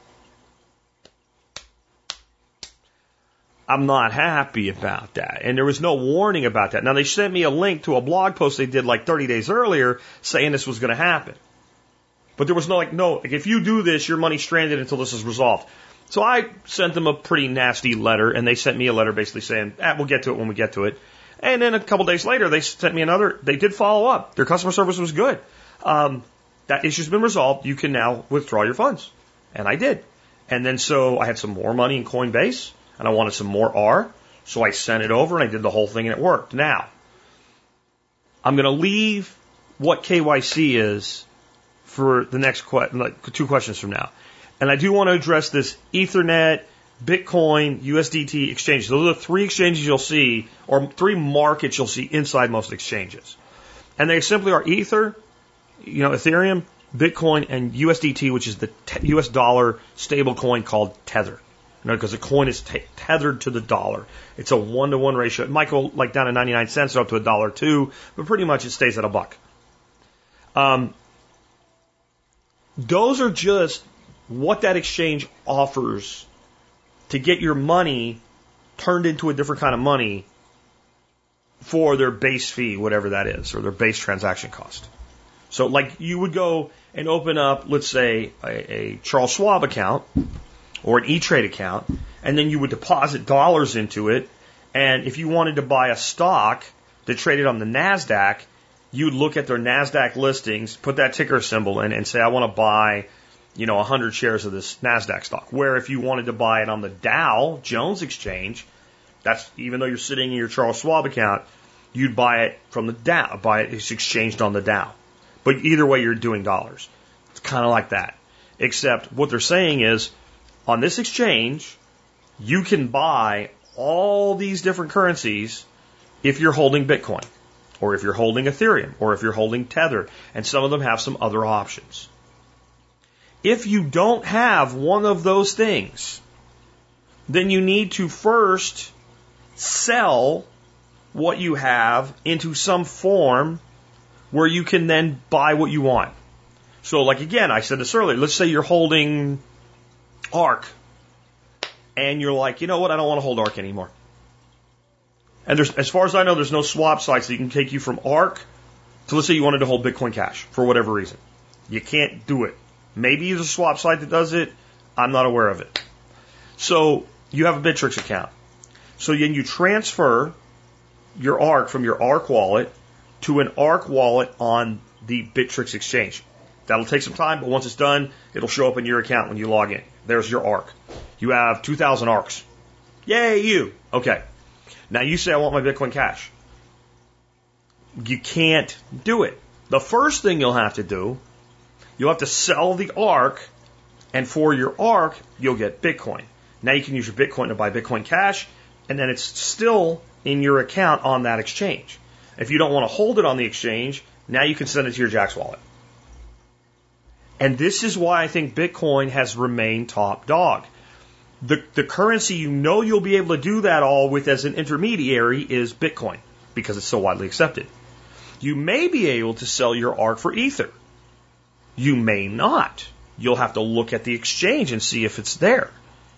I'm not happy about that. And there was no warning about that. Now, they sent me a link to a blog post they did like thirty days earlier saying this was going to happen. But there was no, like, no, like, if you do this, your money's stranded until this is resolved. So I sent them a pretty nasty letter, and they sent me a letter basically saying, ah, we'll get to it when we get to it. And then a couple days later, they sent me another. They did follow up. Their customer service was good. Um, that issue's been resolved. You can now withdraw your funds. And I did. And then so I had some more money in Coinbase, and I wanted some more R, so I sent it over and I did the whole thing and it worked. Now, I'm going to leave what K Y C is for the next que- like two questions from now. And I do want to address this Ethernet, Bitcoin, U S D T exchanges. Those are the three exchanges you'll see, or three markets you'll see inside most exchanges. And they simply are Ether, you know, Ethereum, Bitcoin, and U S D T, which is the te- U S dollar stable coin called Tether. You know, because the coin is t- tethered to the dollar. It's a one-to-one ratio. It might go like down to ninety-nine cents or up to a dollar two, but pretty much it stays at a buck. Um, those are just what that exchange offers to get your money turned into a different kind of money for their base fee, whatever that is, or their base transaction cost. So like you would go and open up, let's say, a, a Charles Schwab account or an E-Trade account, and then you would deposit dollars into it, and if you wanted to buy a stock that traded on the NASDAQ, you'd look at their NASDAQ listings, put that ticker symbol in, and say, I want to buy, you know, one hundred shares of this NASDAQ stock. Where if you wanted to buy it on the Dow Jones Exchange, that's even though you're sitting in your Charles Schwab account, you'd buy it from the Dow, buy it, it's exchanged on the Dow. But either way, you're doing dollars. It's kind of like that. Except what they're saying is, on this exchange, you can buy all these different currencies if you're holding Bitcoin, or if you're holding Ethereum, or if you're holding Tether, and some of them have some other options. If you don't have one of those things, then you need to first sell what you have into some form where you can then buy what you want. So like again, I said this earlier, let's say you're holding ARK, and you're like, you know what, I don't want to hold ARK anymore. And there's, as far as I know, there's no swap sites that can take you from ARK to, let's say you wanted to hold Bitcoin Cash for whatever reason. You can't do it. Maybe there's a swap site that does it. I'm not aware of it. So you have a Bittrex account. So then you transfer your ARK from your ARK wallet to an ARK wallet on the Bittrex exchange. That'll take some time, but once it's done, it'll show up in your account when you log in. There's your ARK. You have two thousand ARKs. Yay, you. Okay. Now you say, I want my Bitcoin Cash. You can't do it. The first thing you'll have to do, you'll have to sell the ARK, and for your ARK, you'll get Bitcoin. Now you can use your Bitcoin to buy Bitcoin Cash, and then it's still in your account on that exchange. If you don't want to hold it on the exchange, now you can send it to your Jaxx wallet. And this is why I think Bitcoin has remained top dog. The, the currency you know you'll be able to do that all with as an intermediary is Bitcoin, because it's so widely accepted. You may be able to sell your ARK for Ether. You may not. You'll have to look at the exchange and see if it's there.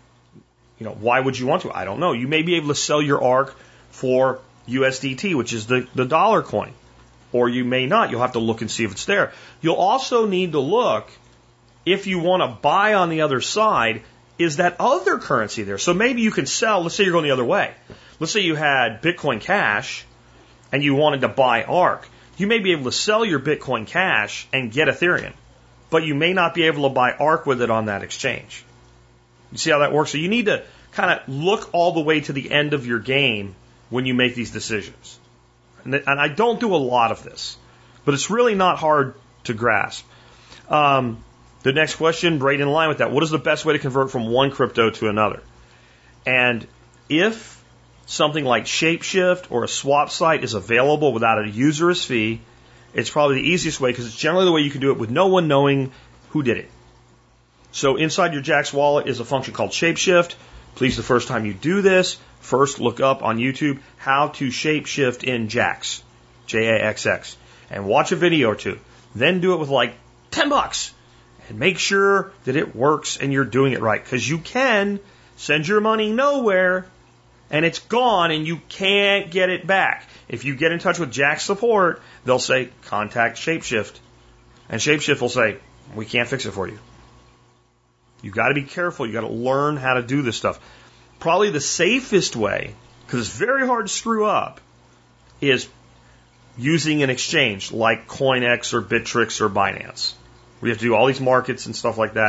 You know, why would you want to? I don't know. You may be able to sell your ARK for U S D T, which is the, the dollar coin. Or you may not. You'll have to look and see if it's there. You'll also need to look, if you want to buy on the other side, is that other currency there? So maybe you can sell, let's say you're going the other way. Let's say you had Bitcoin Cash and you wanted to buy ARK. You may be able to sell your Bitcoin Cash and get Ethereum, but you may not be able to buy ARK with it on that exchange. You see how that works? So you need to kind of look all the way to the end of your game when you make these decisions. And I don't do a lot of this, but it's really not hard to grasp. Um, the next question, right in line with that, what is the best way to convert from one crypto to another? And if something like Shapeshift or a swap site is available without a usurious fee, it's probably the easiest way because it's generally the way you can do it with no one knowing who did it. So inside your Jaxx wallet is a function called Shapeshift. Please, the first time you do this, first look up on YouTube how to shapeshift in Jaxx, J A X X, and watch a video or two. Then do it with like ten bucks and make sure that it works and you're doing it right. Because you can send your money nowhere and it's gone and you can't get it back. If you get in touch with Jaxx support, they'll say, contact Shapeshift. And Shapeshift will say, we can't fix it for you. You've got to be careful. You've got to learn how to do this stuff. Probably the safest way, because it's very hard to screw up, is using an exchange like CoinEx or Bittrex or Binance. We have to do all these markets and stuff like that.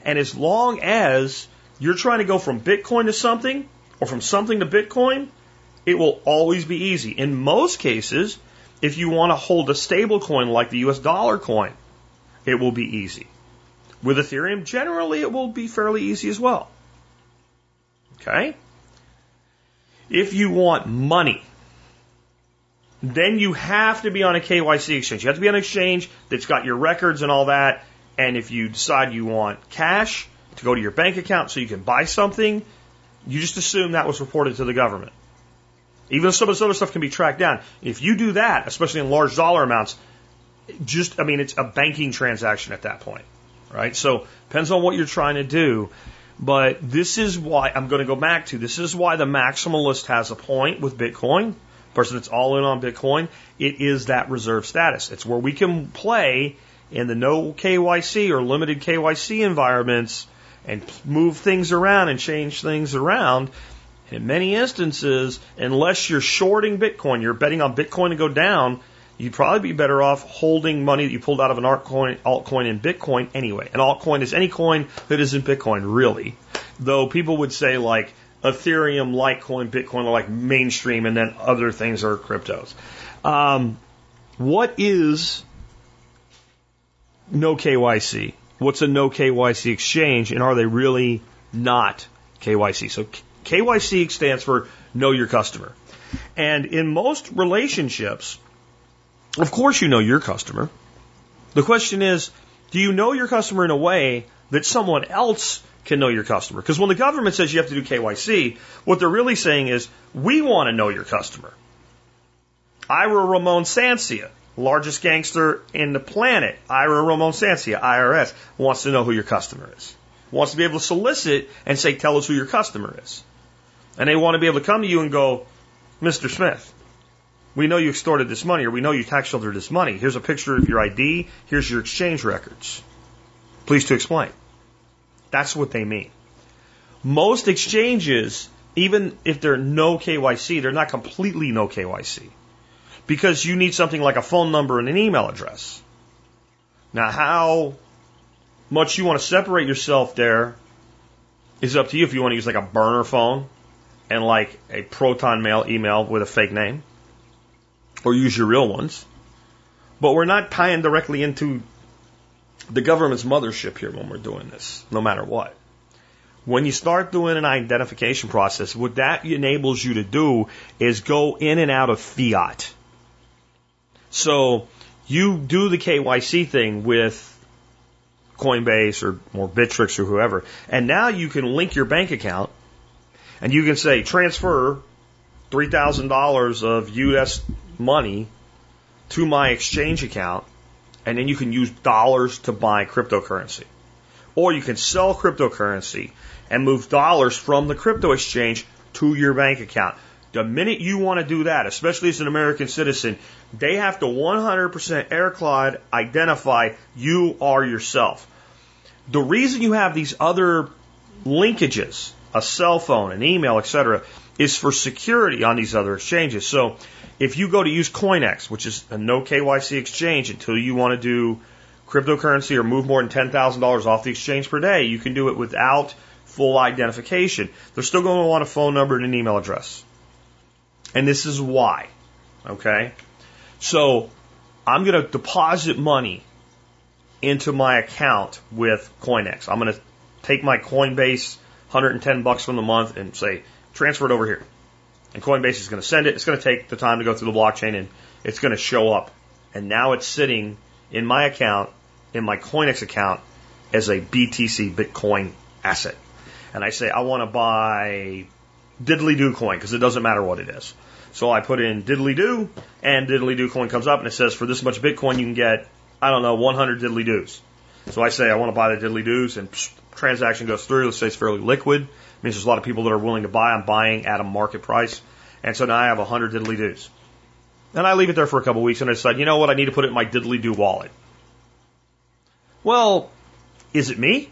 And as long as you're trying to go from Bitcoin to something or from something to Bitcoin, it will always be easy. In most cases, if you want to hold a stable coin like the U S dollar coin, it will be easy. With Ethereum, generally it will be fairly easy as well. Okay? If you want money, then you have to be on a K Y C exchange. You have to be on an exchange that's got your records and all that. And if you decide you want cash to go to your bank account so you can buy something, you just assume that was reported to the government. Even though some of this other stuff can be tracked down. If you do that, especially in large dollar amounts, just, I mean, it's a banking transaction at that point, right? So, depends on what you're trying to do. But this is why, I'm going to go back to, this is why the maximalist has a point with Bitcoin. Person that's all in on Bitcoin, it is that reserve status. It's where we can play in the no K Y C or limited K Y C environments and move things around and change things around. In many instances, unless you're shorting Bitcoin, you're betting on Bitcoin to go down, you'd probably be better off holding money that you pulled out of an altcoin, altcoin in Bitcoin anyway. An altcoin is any coin that isn't Bitcoin, really. Though people would say like Ethereum, Litecoin, Bitcoin are like mainstream, and then other things are cryptos. Um, what is no K Y C? What's a no K Y C exchange, and are they really not K Y C? So K Y C stands for know your customer. And in most relationships, of course you know your customer. The question is, do you know your customer in a way that someone else can know your customer? Because when the government says you have to do K Y C, what they're really saying is, we want to know your customer. Ira Ramon Sancia, largest gangster in the planet, Ira Ramon Sancia, I R S, wants to know who your customer is. Wants to be able to solicit and say, tell us who your customer is. And they want to be able to come to you and go, Mister Smith, we know you extorted this money, or we know you tax sheltered this money. Here's a picture of your I D. Here's your exchange records. Please to explain. That's what they mean. Most exchanges, even if they're no K Y C, they're not completely no K Y C. Because you need something like a phone number and an email address. Now, how much you want to separate yourself there is up to you. If you want to use like a burner phone and like a Proton Mail email with a fake name, or use your real ones. But we're not tying directly into the government's mothership here when we're doing this, no matter what. When you start doing an identification process, what that enables you to do is go in and out of fiat. So you do the K Y C thing with Coinbase or, or Bittrex or whoever, and now you can link your bank account, and you can say, transfer three thousand dollars of U S money to my exchange account, and then you can use dollars to buy cryptocurrency. Or you can sell cryptocurrency and move dollars from the crypto exchange to your bank account. The minute you want to do that, especially as an American citizen, they have to one hundred percent AirCloud identify you are yourself. The reason you have these other linkages, a cell phone, an email, et cetera, is for security on these other exchanges. So if you go to use CoinEx, which is a no K Y C exchange until you want to do cryptocurrency or move more than ten thousand dollars off the exchange per day, you can do it without full identification. They're still going to want a phone number and an email address. And this is why. Okay? So I'm going to deposit money into my account with CoinEx. I'm going to take my Coinbase one hundred ten bucks from the month and say, transfer it over here. And Coinbase is going to send it. It's going to take the time to go through the blockchain, and it's going to show up. And now it's sitting in my account, in my CoinEx account, as a B T C Bitcoin asset. And I say, I want to buy Diddly-Do coin, because it doesn't matter what it is. So I put in Diddly-Do, and Diddly-Do coin comes up, and it says, for this much Bitcoin, you can get, I don't know, one hundred Diddly-Doos. So I say, I want to buy the Diddly-Doos, and psh, transaction goes through. Let's say it's fairly liquid. It means there's a lot of people that are willing to buy. I'm buying at a market price. And so now I have one hundred Diddly-Doos. And I leave it there for a couple of weeks, and I decide, you know what, I need to put it in my Diddly-Do wallet. Well, is it me?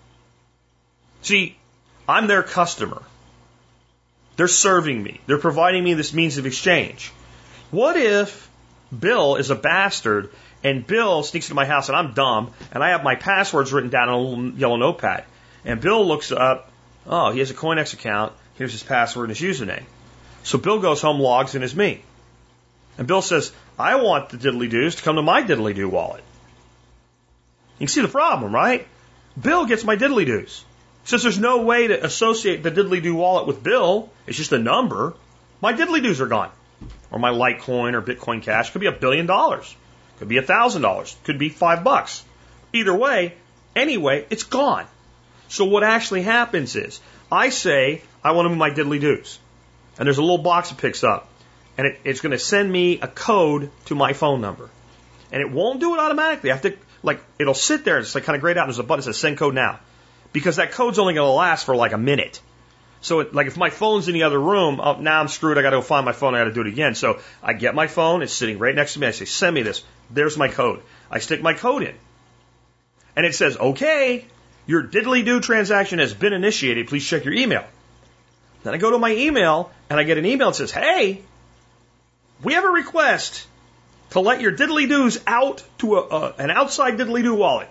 See, I'm their customer. They're serving me. They're providing me this means of exchange. What if Bill is a bastard And Bill sneaks into my house, and I'm dumb, and I have my passwords written down on a little yellow notepad. And Bill looks up, oh, he has a CoinEx account. Here's his password and his username. So Bill goes home, logs in as me. And Bill says, I want the diddly-doos to come to my diddly-doo wallet. You can see the problem, right? Bill gets my diddly-doos. Since there's no way to associate the diddly-doo wallet with Bill, it's just a number, my diddly-doos are gone. Or my Litecoin or Bitcoin Cash. Could be a billion dollars. Could be a thousand dollars. Could be five bucks. Either way, anyway, it's gone. So what actually happens is, I say, I want to move my diddly-doos. And there's a little box it picks up. And it, it's going to send me a code to my phone number. And it won't do it automatically. I have to, like, it'll sit there and it's like kind of grayed out. And there's a button that says send code now. Because that code's only going to last for like a minute. So, it, like, if my phone's in the other room, oh, now I'm screwed. I got to go find my phone. I got to do it again. So I get my phone. It's sitting right next to me. I say, send me this. There's my code. I stick my code in. And it says, okay, your diddly-doo transaction has been initiated. Please check your email. Then I go to my email, and I get an email that says, hey, we have a request to let your diddly-doos out to a, a, an outside diddly-doo wallet.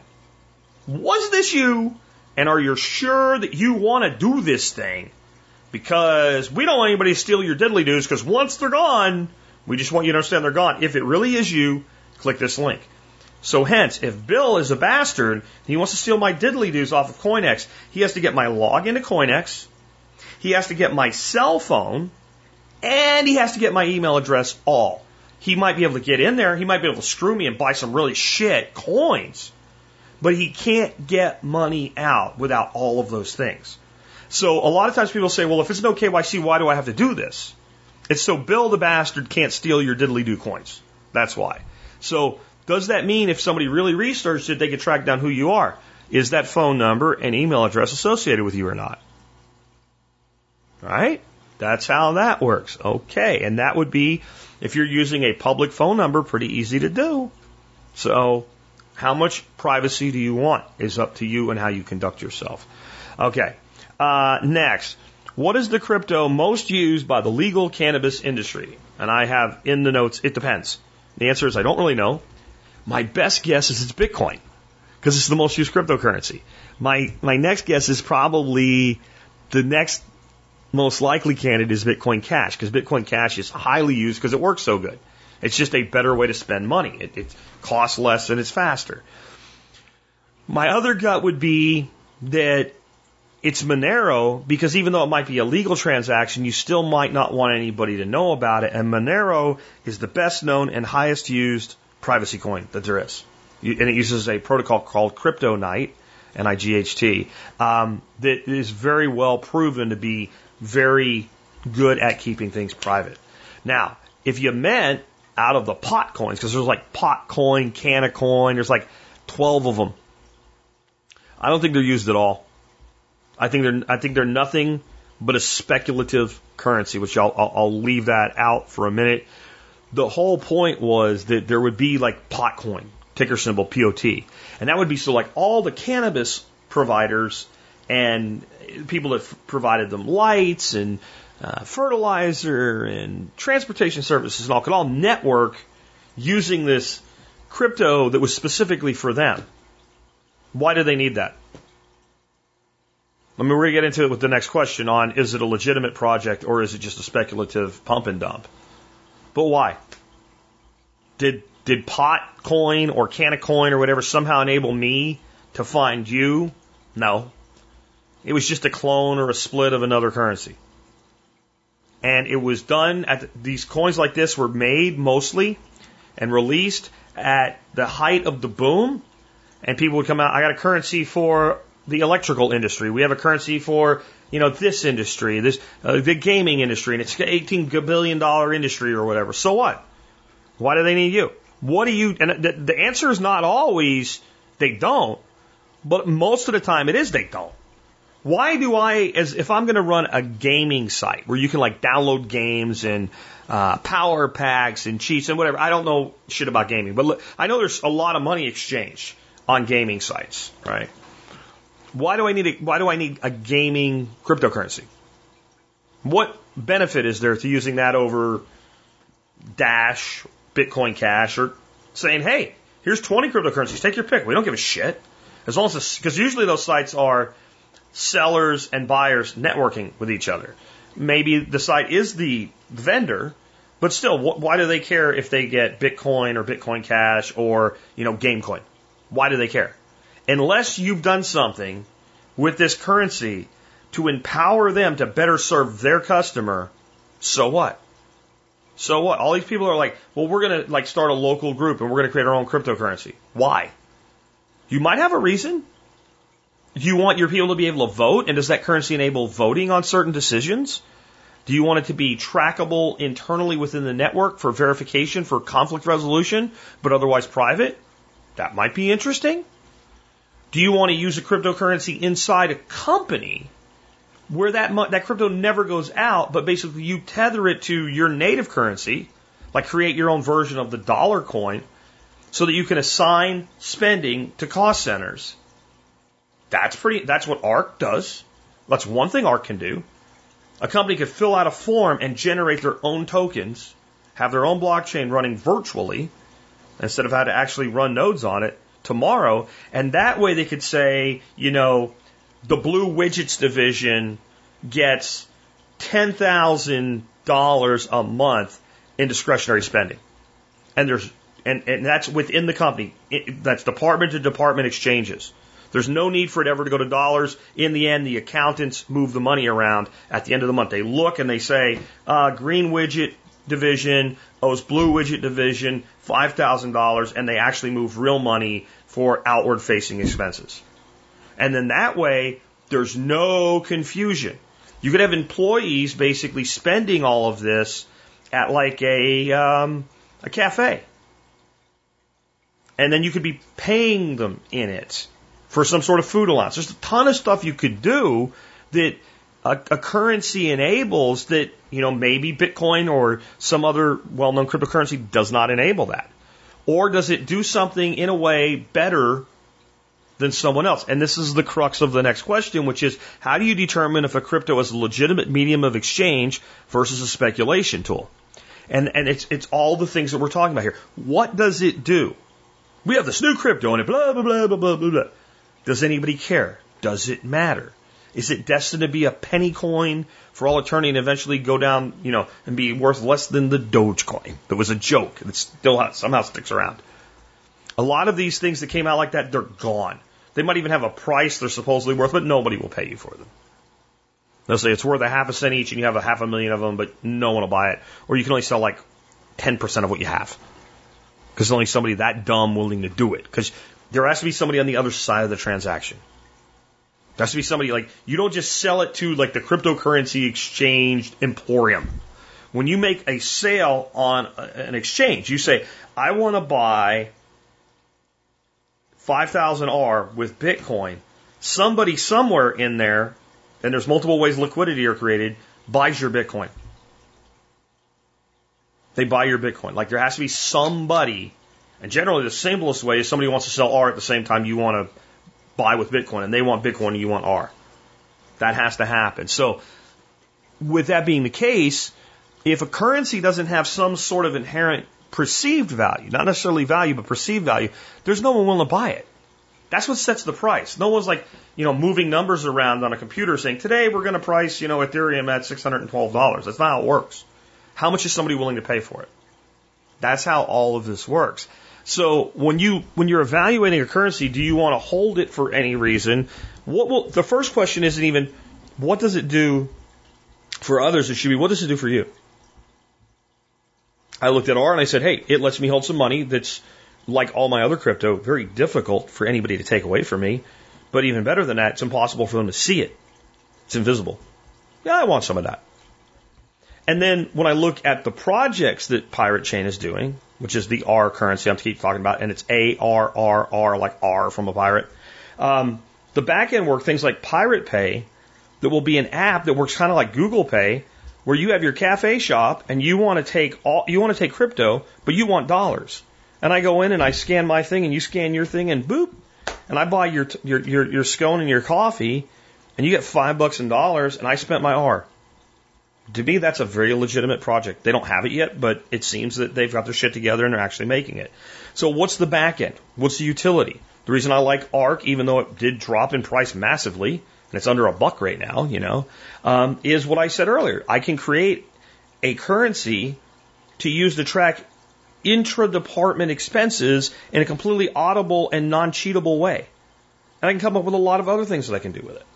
Was this you? And are you sure that you want to do this thing? Because we don't want anybody to steal your diddly-doos, because once they're gone, we just want you to understand they're gone. If it really is you, click this link. So hence, if Bill is a bastard, he wants to steal my diddly-doos off of CoinEx, he has to get my login to CoinEx, he has to get my cell phone, and he has to get my email address all. He might be able to get in there, he might be able to screw me and buy some really shit coins, but he can't get money out without all of those things. So a lot of times people say, well, if it's no K Y C, why do I have to do this? It's so Bill the bastard can't steal your diddly-doo coins. That's why. So does that mean if somebody really researched it, they could track down who you are? Is that phone number and email address associated with you or not? Right? That's how that works. Okay. And that would be, if you're using a public phone number, pretty easy to do. So how much privacy do you want is up to you and how you conduct yourself. Okay. Uh, next. What is the crypto most used by the legal cannabis industry? And I have in the notes, it depends. The answer is I don't really know. My best guess is it's Bitcoin, because it's the most used cryptocurrency. My my next guess is probably the next most likely candidate is Bitcoin Cash, because Bitcoin Cash is highly used because it works so good. It's just a better way to spend money. It, it costs less and it's faster. My other gut would be that it's Monero, because even though it might be a legal transaction, you still might not want anybody to know about it. And Monero is the best known and highest used privacy coin that there is. And it uses a protocol called CryptoNight, N I G H T, um, that is very well proven to be very good at keeping things private. Now, if you meant out of the pot coins, because there's like pot coin, canna coin, there's like twelve of them. I don't think they're used at all. I think they're I think they're nothing but a speculative currency, which I'll, I'll, I'll leave that out for a minute. The whole point was that there would be like Potcoin, ticker symbol P O T, and that would be so like all the cannabis providers and people that f- provided them lights and uh, fertilizer and transportation services and all could all network using this crypto that was specifically for them. Why do they need that? I mean, we're going to get into it with the next question on, is it a legitimate project or is it just a speculative pump and dump? But why? Did did Potcoin or Cannacoin or whatever somehow enable me to find you? No. It was just a clone or a split of another currency. And it was done at the, these coins like this were made mostly and released at the height of the boom. And people would come out, I got a currency for the electrical industry. We have a currency for, you know, this industry, this uh, the gaming industry, and it's an eighteen billion dollars industry or whatever. So what? Why do they need you? What do you? And the, the answer is not always they don't, but most of the time it is they don't. Why do I, as if I'm going to run a gaming site where you can like download games and uh, power packs and cheats and whatever. I don't know shit about gaming, but look, I know there's a lot of money exchanged on gaming sites, right? Why do I need a, why do I need a gaming cryptocurrency? What benefit is there to using that over Dash, Bitcoin Cash, or saying, hey, Here's twenty cryptocurrencies. Take your pick. We don't give a shit. As long as, because usually those sites are sellers and buyers networking with each other. Maybe the site is the vendor, but still, wh- why do they care if they get Bitcoin or Bitcoin Cash or, you know, Gamecoin? Why do they care? Unless you've done something with this currency to empower them to better serve their customer, so what? So what? All these people are like, well, we're going to like start a local group and we're going to create our own cryptocurrency. Why? You might have a reason. Do you want your people to be able to vote? And does that currency enable voting on certain decisions? Do you want it to be trackable internally within the network for verification, for conflict resolution, but otherwise private? That might be interesting. Do you want to use a cryptocurrency inside a company where that mo- that crypto never goes out, but basically you tether it to your native currency, like create your own version of the dollar coin, so that you can assign spending to cost centers? That's pretty. That's what ARK does. That's one thing ARK can do. A company could fill out a form and generate their own tokens, have their own blockchain running virtually, instead of having to actually run nodes on it tomorrow. And that way they could say, you know, the Blue Widgets division gets ten thousand dollars a month in discretionary spending. And there's and, and that's within the company. It, that's department to department exchanges. There's no need for it ever to go to dollars. In the end, the accountants move the money around at the end of the month. They look and they say, uh, Green Widget division owes Blue Widget division five thousand dollars, and they actually move real money for outward facing expenses. And then that way, there's no confusion. You could have employees basically spending all of this at like a, um, a cafe. And then you could be paying them in it for some sort of food allowance. There's a ton of stuff you could do that a, a currency enables that, you know, maybe Bitcoin or some other well-known cryptocurrency does not enable that. Or does it do something in a way better than someone else? And this is the crux of the next question, which is, how do you determine if a crypto is a legitimate medium of exchange versus a speculation tool? And, and it's, it's all the things that we're talking about here. What does it do? We have this new crypto and it blah, blah, blah, blah, blah, blah. Does anybody care? Does it matter? Is it destined to be a penny coin for all eternity and eventually go down, you know, and be worth less than the Dogecoin that was a joke that still somehow sticks around? A lot of these things that came out like that, they're gone. They might even have a price they're supposedly worth, but nobody will pay you for them. They'll say it's worth a half a cent each and you have a half a million of them, but no one will buy it. Or you can only sell like ten percent of what you have. Because there's only somebody that dumb willing to do it. Because there has to be somebody on the other side of the transaction. There has to be somebody like, you don't just sell it to like the cryptocurrency exchange emporium. When you make a sale on an exchange, you say, I want to buy five thousand R with Bitcoin. Somebody somewhere in there, and there's multiple ways liquidity are created, buys your Bitcoin. They buy your Bitcoin. Like there has to be somebody, and generally the simplest way is somebody wants to sell R at the same time you want to buy with Bitcoin, and they want Bitcoin and you want R. That has to happen. So with that being the case, if a currency doesn't have some sort of inherent perceived value, not necessarily value, but perceived value, there's no one willing to buy it. That's what sets the price. No one's like, you know, moving numbers around on a computer saying, today we're going to price, you know, Ethereum at six hundred twelve dollars. That's not how it works. How much is somebody willing to pay for it? That's how all of this works. So when you when you're evaluating a currency, do you want to hold it for any reason? What will the first question isn't even what does it do for others? It should be what does it do for you? I looked at R and I said, hey, it lets me hold some money that's like all my other crypto, very difficult for anybody to take away from me. But even better than that, it's impossible for them to see it. It's invisible. Yeah, I want some of that. And then when I look at the projects that Pirate Chain is doing, which is the R currency I'm keep talking about, and it's A R R R, like R from a pirate. Um, the back end work, things like Pirate Pay, that will be an app that works kind of like Google Pay, where you have your cafe shop and you want to take all, you want to take crypto, but you want dollars. And I go in and I scan my thing and you scan your thing and boop, and I buy your your your, your scone and your coffee, and you get five bucks in dollars, and I spent my R. To me, that's a very legitimate project. They don't have it yet, but it seems that they've got their shit together and they're actually making it. So what's the back end? What's the utility? The reason I like ARK, even though it did drop in price massively, and it's under a buck right now, you know, um, is what I said earlier. I can create a currency to use to track intra-department expenses in a completely audible and non-cheatable way. And I can come up with a lot of other things that I can do with it.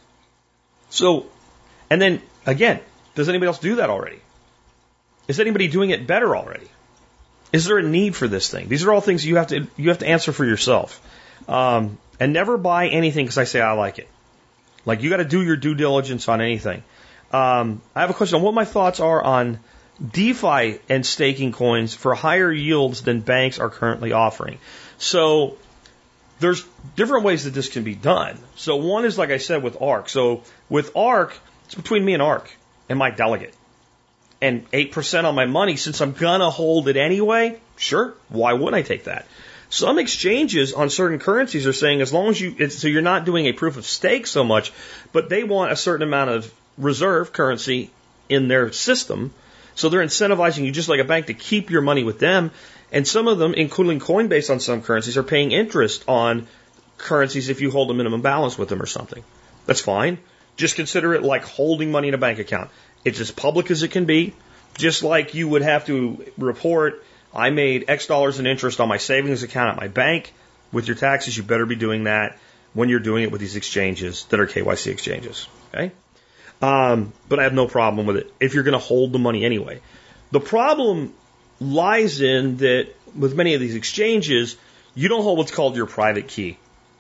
So, and then, again, does anybody else do that already? Is anybody doing it better already? Is there a need for this thing? These are all things you have to you have to answer for yourself. Um, and never buy anything because I say I like it. Like, you got to do your due diligence on anything. Um, I have a question on what my thoughts are on DeFi and staking coins for higher yields than banks are currently offering. So there's different ways that this can be done. So one is, like I said, with ARK. So with ARK, it's between me and ARK and my delegate. And eight percent on my money, since I'm going to hold it anyway, sure, why wouldn't I take that? Some exchanges on certain currencies are saying as long as you, it's, so you're not doing a proof of stake so much, but they want a certain amount of reserve currency in their system. So they're incentivizing you just like a bank to keep your money with them. And some of them, including Coinbase on some currencies, are paying interest on currencies if you hold a minimum balance with them or something. That's fine. Just consider it like holding money in a bank account. It's as public as it can be. Just like you would have to report, I made X dollars in interest on my savings account at my bank. With your taxes, you better be doing that when you're doing it with these exchanges that are K Y C exchanges. Okay? Um, but I have no problem with it if you're going to hold the money anyway. The problem lies in that with many of these exchanges, you don't hold what's called your private key.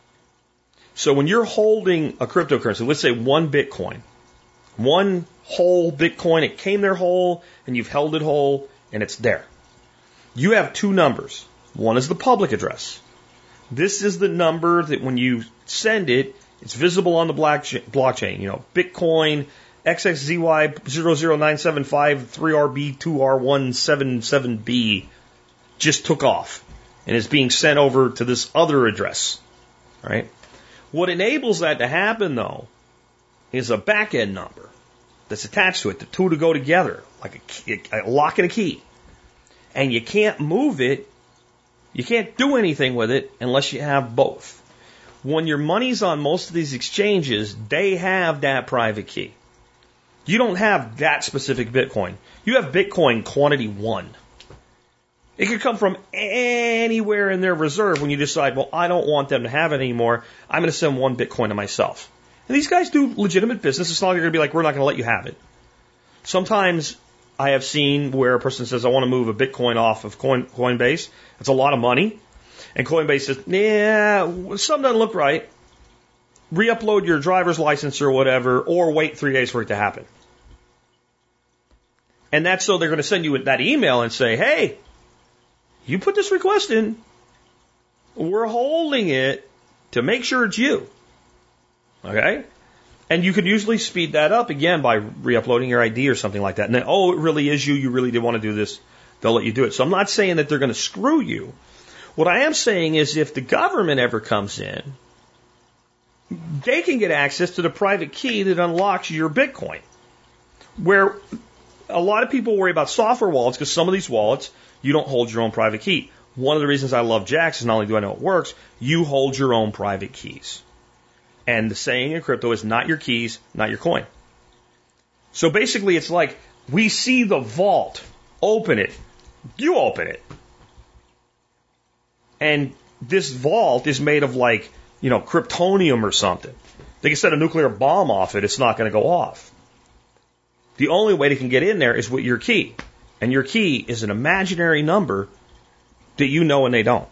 So when you're holding a cryptocurrency, let's say one Bitcoin, one whole Bitcoin, it came there whole, and you've held it whole, and it's there. You have two numbers. One is the public address. This is the number that when you send it, it's visible on the blockchain. You know, Bitcoin X X Z Y zero zero nine seven five three R B two R one seven seven B just took off and is being sent over to this other address. Right? What enables that to happen, though, is a back-end number that's attached to it, the two to go together, like a, key, a lock and a key. And you can't move it, you can't do anything with it unless you have both. When your money's on most of these exchanges, they have that private key. You don't have that specific Bitcoin. You have Bitcoin quantity one. It could come from anywhere in their reserve when you decide, well, I don't want them to have it anymore. I'm going to send one Bitcoin to myself. And these guys do legitimate business. It's not like they're going to be like, we're not going to let you have it. Sometimes I have seen where a person says, I want to move a Bitcoin off of Coin, Coinbase. It's a lot of money. And Coinbase says, yeah, something doesn't look right. Re-upload your driver's license or whatever, or wait three days for it to happen. And that's so they're going to send you that email and say, hey, you put this request in. We're holding it to make sure it's you. Okay? And you could usually speed that up again by re-uploading your I D or something like that. And then, oh, it really is you. You really did want to do this. They'll let you do it. So I'm not saying that they're going to screw you. What I am saying is if the government ever comes in, they can get access to the private key that unlocks your Bitcoin. Where a lot of people worry about software wallets because some of these wallets, you don't hold your own private key. One of the reasons I love Jaxx is not only do I know it works, you hold your own private keys. And the saying in crypto is not your keys, not your coin. So basically it's like we see the vault, open it, you open it. And this vault is made of like, you know, kryptonium or something. They can set a nuclear bomb off it, it's not going to go off. The only way they can get in there is with your key. And your key is an imaginary number that you know and they don't.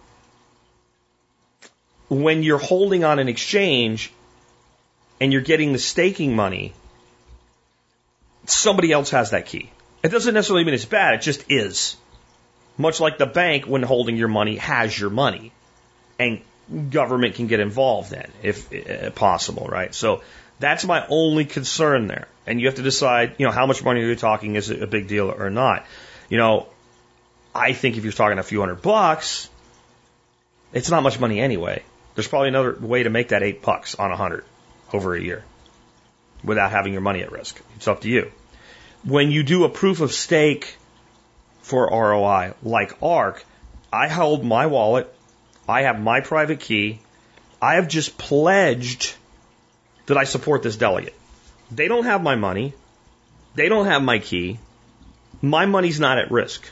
When you're holding on an exchange and you're getting the staking money, somebody else has that key. It doesn't necessarily mean it's bad, it just is. Much like the bank, when holding your money, has your money. And government can get involved then, if, if possible, right? So that's my only concern there. And you have to decide, you know, how much money are you talking, is it a big deal or not? You know, I think if you're talking a few hundred bucks, it's not much money anyway. There's probably another way to make that eight bucks on a hundred over a year without having your money at risk. It's up to you. when you do a proof of stake for R O I, like ARC, I hold my wallet, I have my private key, I have just pledged that I support this delegate. They don't have my money, they don't have my key, my money's not at risk.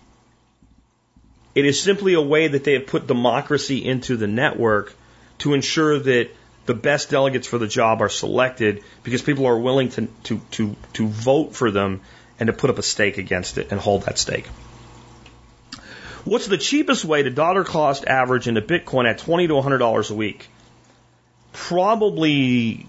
It is simply a way that they have put democracy into the network to ensure that the best delegates for the job are selected because people are willing to, to, to, to vote for them and to put up a stake against it and hold that stake. What's the cheapest way to dollar cost average into Bitcoin at twenty to one hundred dollars a week? Probably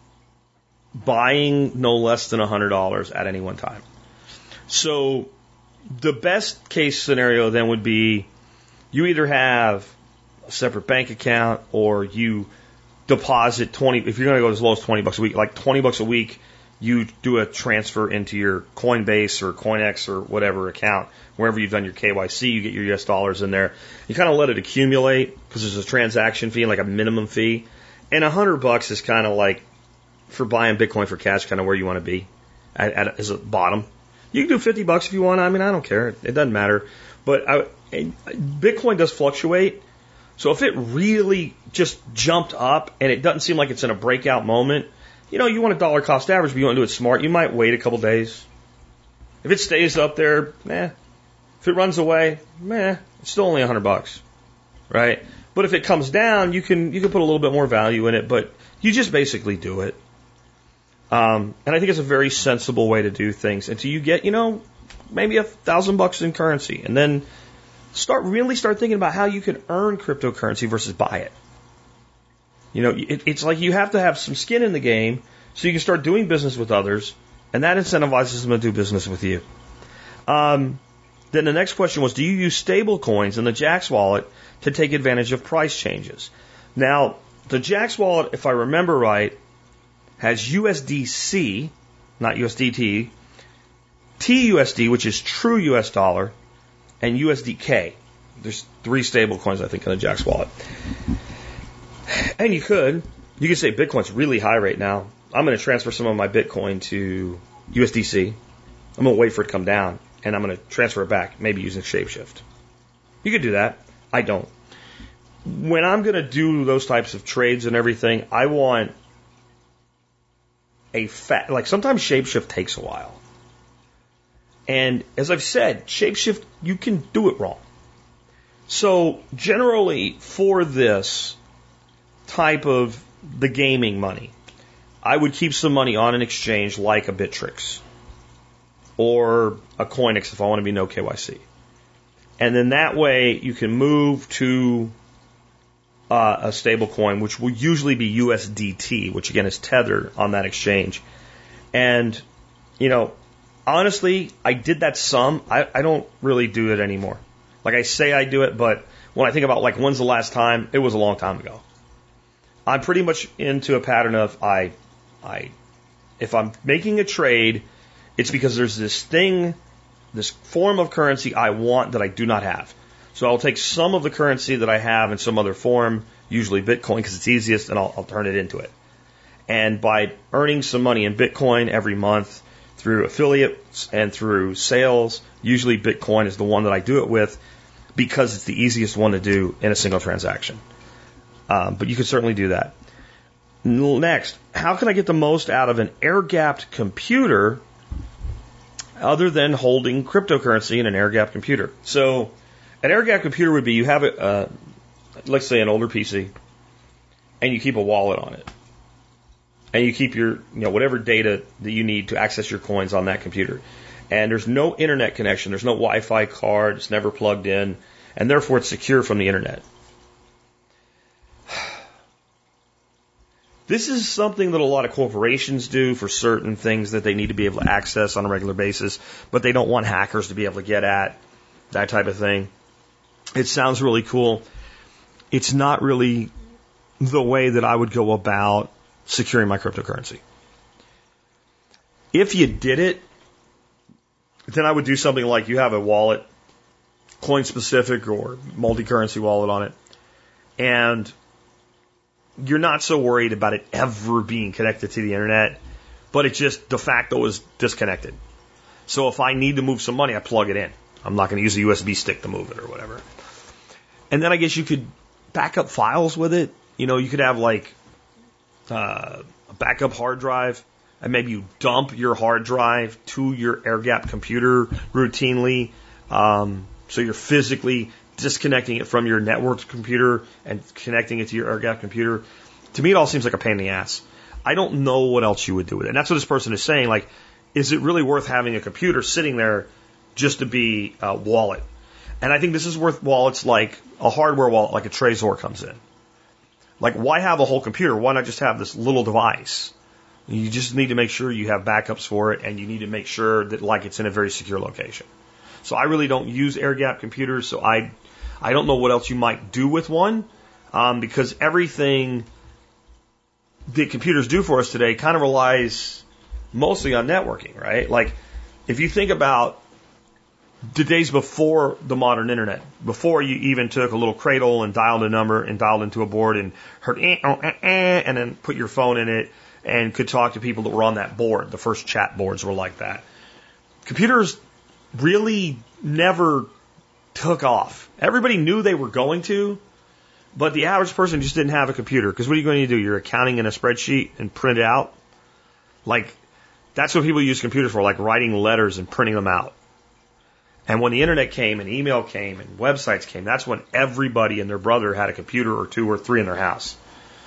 buying no less than one hundred dollars at any one time. So the best case scenario then would be you either have a separate bank account or you deposit twenty, if you're going to go as low as twenty bucks a week, like twenty bucks a week, you do a transfer into your Coinbase or CoinEx or whatever account, wherever you've done your K Y C, you get your U S dollars in there. You kind of let it accumulate because there's a transaction fee, like a minimum fee. And a hundred bucks is kind of like for buying Bitcoin for cash, kind of where you want to be at, at as a bottom. You can do fifty bucks if you want. I mean, I don't care. It doesn't matter. But I, Bitcoin does fluctuate. So if it really just jumped up and it doesn't seem like it's in a breakout moment, you know, you want a dollar cost average, but you want to do it smart. You might wait a couple days. If it stays up there, meh. If it runs away, meh. It's still only a hundred bucks, right? But if it comes down, you can you can put a little bit more value in it. But you just basically do it. Um, and I think it's a very sensible way to do things until you get, you know, maybe a thousand bucks in currency, and then start really start thinking about how you can earn cryptocurrency versus buy it. You know, it, it's like you have to have some skin in the game so you can start doing business with others, and that incentivizes them to do business with you. Um, then the next question was, do you use stable coins in the Jaxx wallet to take advantage of price changes? Now, the Jaxx wallet, if I remember right, has U S D C, not U S D T, T U S D, which is true U S dollar, and U S D K. There's three stable coins, I think, in the Jaxx wallet. And you could, you could say Bitcoin's really high right now. I'm going to transfer some of my Bitcoin to U S D C. I'm going to wait for it to come down, and I'm going to transfer it back, maybe using Shapeshift. You could do that. I don't. When I'm going to do those types of trades and everything, I want a fat, like sometimes Shapeshift takes a while. And as I've said, Shapeshift, you can do it wrong. So generally for this type of the gaming money, I would keep some money on an exchange like a Bittrex or a Coinex if I want to be no K Y C. And then that way you can move to uh, a stable coin, which will usually be U S D T, which again is tethered on that exchange. And, you know, honestly, I did that some. I, I don't really do it anymore. Like I say I do it, but when I think about like when's the last time, it was a long time ago. I'm pretty much into a pattern of I, I, if I'm making a trade, it's because there's this thing, this form of currency I want that I do not have. So I'll take some of the currency that I have in some other form, usually Bitcoin because it's easiest, and I'll, I'll turn it into it. And by earning some money in Bitcoin every month through affiliates and through sales, usually Bitcoin is the one that I do it with because it's the easiest one to do in a single transaction. Um, but you can certainly do that. Next, how can I get the most out of an air-gapped computer other than holding cryptocurrency in an air-gapped computer? So an air-gapped computer would be you have, a, uh, let's say, an older P C, and you keep a wallet on it. And you keep your, you know, whatever data that you need to access your coins on that computer. And there's no internet connection. There's no Wi-Fi card. It's never plugged in. And therefore, it's secure from the internet. This is something that a lot of corporations do for certain things that they need to be able to access on a regular basis, but they don't want hackers to be able to get at, that type of thing. It sounds really cool. It's not really the way that I would go about securing my cryptocurrency. If you did it, then I would do something like you have a wallet, coin specific or multi-currency wallet on it, and you're not so worried about it ever being connected to the internet, but it just de facto is disconnected. So if I need to move some money, I plug it in. I'm not going to use a U S B stick to move it or whatever. And then I guess you could back up files with it. You know, you could have like uh, a backup hard drive, and maybe you dump your hard drive to your air-gapped computer routinely. Um, so you're physically disconnecting it from your networked computer and connecting it to your air-gapped computer. To me, it all seems like a pain in the ass. I don't know what else you would do with it. And that's what this person is saying. Like, is it really worth having a computer sitting there just to be a wallet? And I think this is worth wallets like a hardware wallet, like a Trezor comes in. Like, why have a whole computer? Why not just have this little device? You just need to make sure you have backups for it, and you need to make sure that, like, it's in a very secure location. So I really don't use air-gapped computers, so I, I don't know what else you might do with one, um, because everything that computers do for us today kind of relies mostly on networking, right? Like, if you think about the days before the modern internet, before you even took a little cradle and dialed a number and dialed into a board and heard eh, oh, eh, eh, and then put your phone in it and could talk to people that were on that board. The first chat boards were like that. Computers really never took off. Everybody knew they were going to, but the average person just didn't have a computer. Because what are you going to do? You're accounting in a spreadsheet and print it out? Like, that's what people use computers for, like writing letters and printing them out. And when the internet came and email came and websites came, that's when everybody and their brother had a computer or two or three in their house.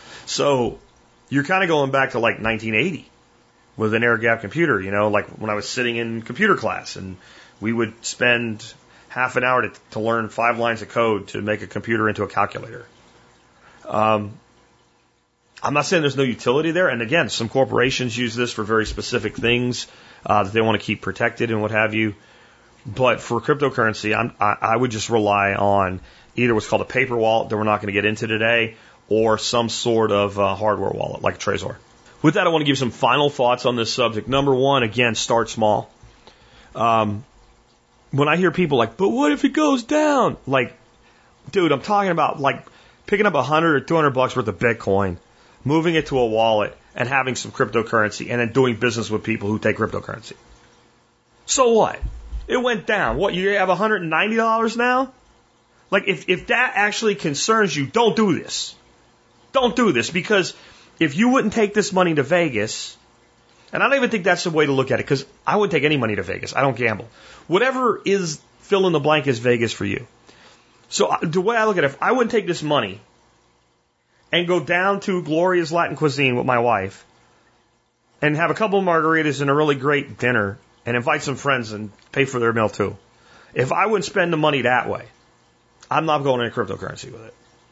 So you're kind of going back to like nineteen eighty with an air-gapped computer, you know, like when I was sitting in computer class and we would spend half an hour to, to learn five lines of code to make a computer into a calculator. Um, I'm not saying there's no utility there. And again, some corporations use this for very specific things uh, that they want to keep protected and what have you. But for cryptocurrency, I'm, I, I would just rely on either what's called a paper wallet that we're not going to get into today, or some sort of uh, hardware wallet like a Trezor. With that, I want to give you some final thoughts on this subject. Number one, again, start small. Um, when I hear people like, but what if it goes down? Like, dude, I'm talking about like picking up a hundred or two hundred bucks worth of Bitcoin, moving it to a wallet, and having some cryptocurrency, and then doing business with people who take cryptocurrency. So what? It went down. What, you have one hundred ninety dollars now? Like, if, if that actually concerns you, don't do this. Don't do this, because if you wouldn't take this money to Vegas, and I don't even think that's the way to look at it, because I wouldn't take any money to Vegas. I don't gamble. Whatever is fill in the blank is Vegas for you. So the way I look at it, if I wouldn't take this money and go down to Gloria's Latin Cuisine with my wife and have a couple of margaritas and a really great dinner, and invite some friends and pay for their meal too. If I wouldn't spend the money that way, I'm not going into cryptocurrency with it.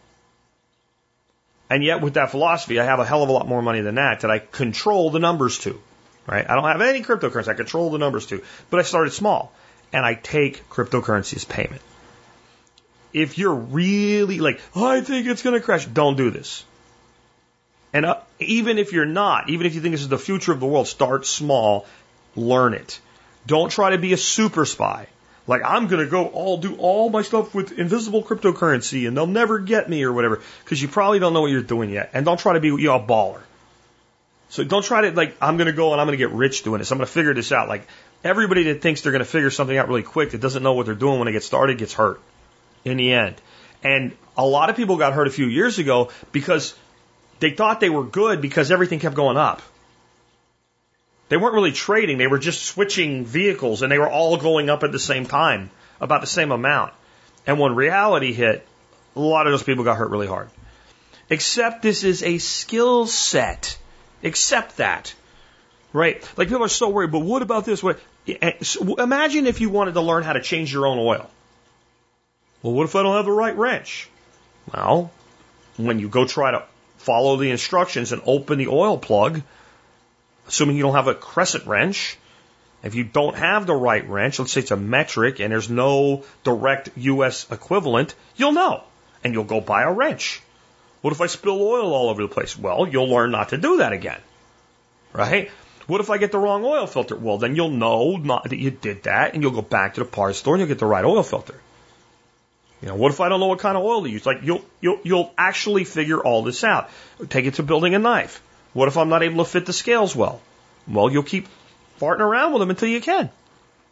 And yet with that philosophy, I have a hell of a lot more money than that that I control the numbers to. Right? I don't have any cryptocurrency. I control the numbers to. But I started small. And I take cryptocurrency as payment. If you're really like, oh, I think it's going to crash, don't do this. And uh, even if you're not, even if you think this is the future of the world, start small, learn it. Don't try to be a super spy. Like, I'm going to go all do all my stuff with invisible cryptocurrency and they'll never get me or whatever. Because you probably don't know what you're doing yet. And don't try to be you know, a baller. So don't try to, like, I'm going to go and I'm going to get rich doing this. I'm going to figure this out. Like, everybody that thinks they're going to figure something out really quick that doesn't know what they're doing when they get started gets hurt in the end. And a lot of people got hurt a few years ago because they thought they were good because everything kept going up. They weren't really trading. They were just switching vehicles, and they were all going up at the same time, about the same amount. And when reality hit, a lot of those people got hurt really hard. Except this is a skill set. Accept that. Right? Like, people are so worried, but what about this? What? Imagine if you wanted to learn how to change your own oil. Well, what if I don't have the right wrench? Well, when you go try to follow the instructions and open the oil plug, assuming you don't have a crescent wrench, if you don't have the right wrench, let's say it's a metric and there's no direct U S equivalent, you'll know. And you'll go buy a wrench. What if I spill oil all over the place? Well, you'll learn not to do that again. Right? What if I get the wrong oil filter? Well, then you'll know not that you did that, and you'll go back to the parts store and you'll get the right oil filter. You know, what if I don't know what kind of oil to use? Like, you'll, you'll, you'll actually figure all this out. Take it to building a knife. What if I'm not able to fit the scales well? Well, you'll keep farting around with them until you can.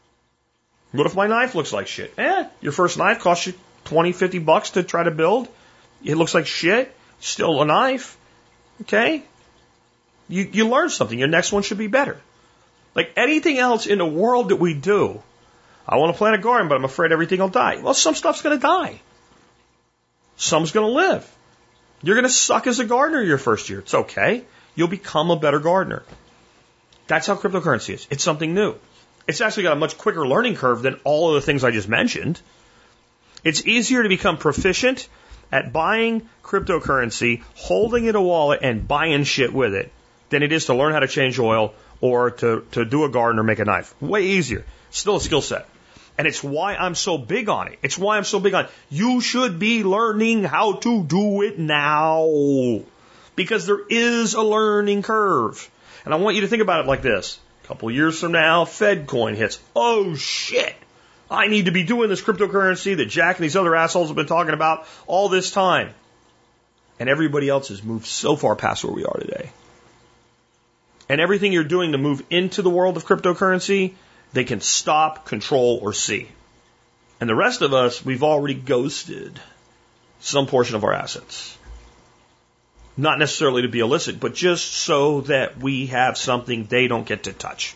What if my knife looks like shit? Eh, your first knife costs you twenty, fifty bucks to try to build. It looks like shit. Still a knife. Okay? You, you learn something. Your next one should be better. Like anything else in the world that we do, I want to plant a garden, but I'm afraid everything will die. Well, some stuff's going to die. Some's going to live. You're going to suck as a gardener your first year. It's okay. You'll become a better gardener. That's how cryptocurrency is. It's something new. It's actually got a much quicker learning curve than all of the things I just mentioned. It's easier to become proficient at buying cryptocurrency, holding it a wallet, and buying shit with it than it is to learn how to change oil or to, to do a garden or make a knife. Way easier. Still a skill set. And it's why I'm so big on it. It's why I'm so big on it. You should be learning how to do it now. Because there is a learning curve. And I want you to think about it like this. A couple years from now, Fed coin hits. Oh, shit. I need to be doing this cryptocurrency that Jack and these other assholes have been talking about all this time. And everybody else has moved so far past where we are today. And everything you're doing to move into the world of cryptocurrency, they can stop, control, or see. And the rest of us, we've already ghosted some portion of our assets. Not necessarily to be illicit, but just so that we have something they don't get to touch.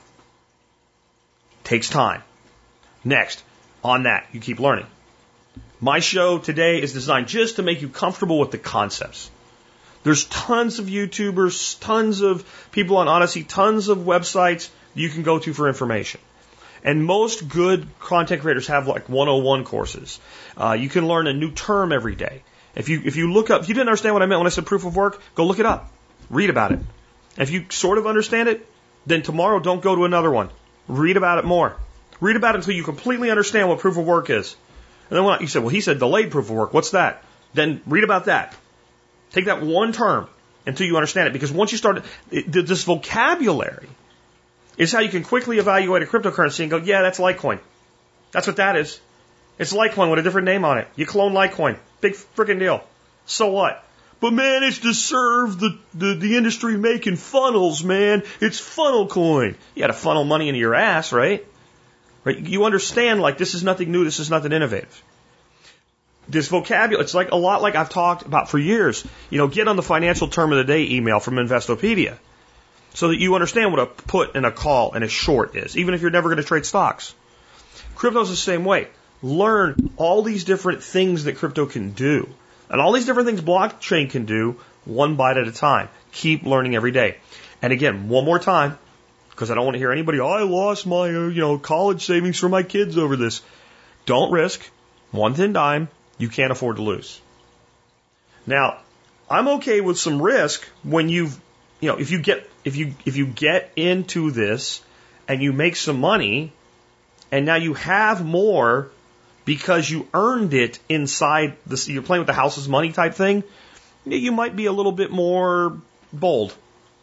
Takes time. Next, on that, you keep learning. My show today is designed just to make you comfortable with the concepts. There's tons of YouTubers, tons of people on Odyssey, tons of websites you can go to for information. And most good content creators have like one oh one courses. Uh, you can learn a new term every day. If you if you look up, if you didn't understand what I meant when I said proof of work, go look it up. Read about it. If you sort of understand it, then tomorrow don't go to another one. Read about it more. Read about it until you completely understand what proof of work is. And then when you say, well, he said delayed proof of work. What's that? Then read about that. Take that one term until you understand it. Because once you start, it, this vocabulary is how you can quickly evaluate a cryptocurrency and go, yeah, that's Litecoin. That's what that is. It's Litecoin with a different name on it. You clone Litecoin. Big freaking deal. So what? But man, it's to serve the, the, the industry making funnels, man. It's funnel coin. You got to funnel money into your ass, right? Right? You understand, like, this is nothing new. This is nothing innovative. This vocabulary, it's like a lot like I've talked about for years. You know, get on the financial term of the day email from Investopedia so that you understand what a put and a call and a short is, even if you're never going to trade stocks. Crypto's the same way. Learn all these different things that crypto can do. And all these different things blockchain can do, one bite at a time. Keep learning every day. And again, one more time, because I don't want to hear anybody, oh, I lost my uh, you know college savings for my kids over this. Don't risk. One thin dime, you can't afford to lose. Now, I'm okay with some risk when you've, you know, if you get if you if you get into this and you make some money, and now you have more because you earned it inside the, you're playing with the house's money type thing, you might be a little bit more bold.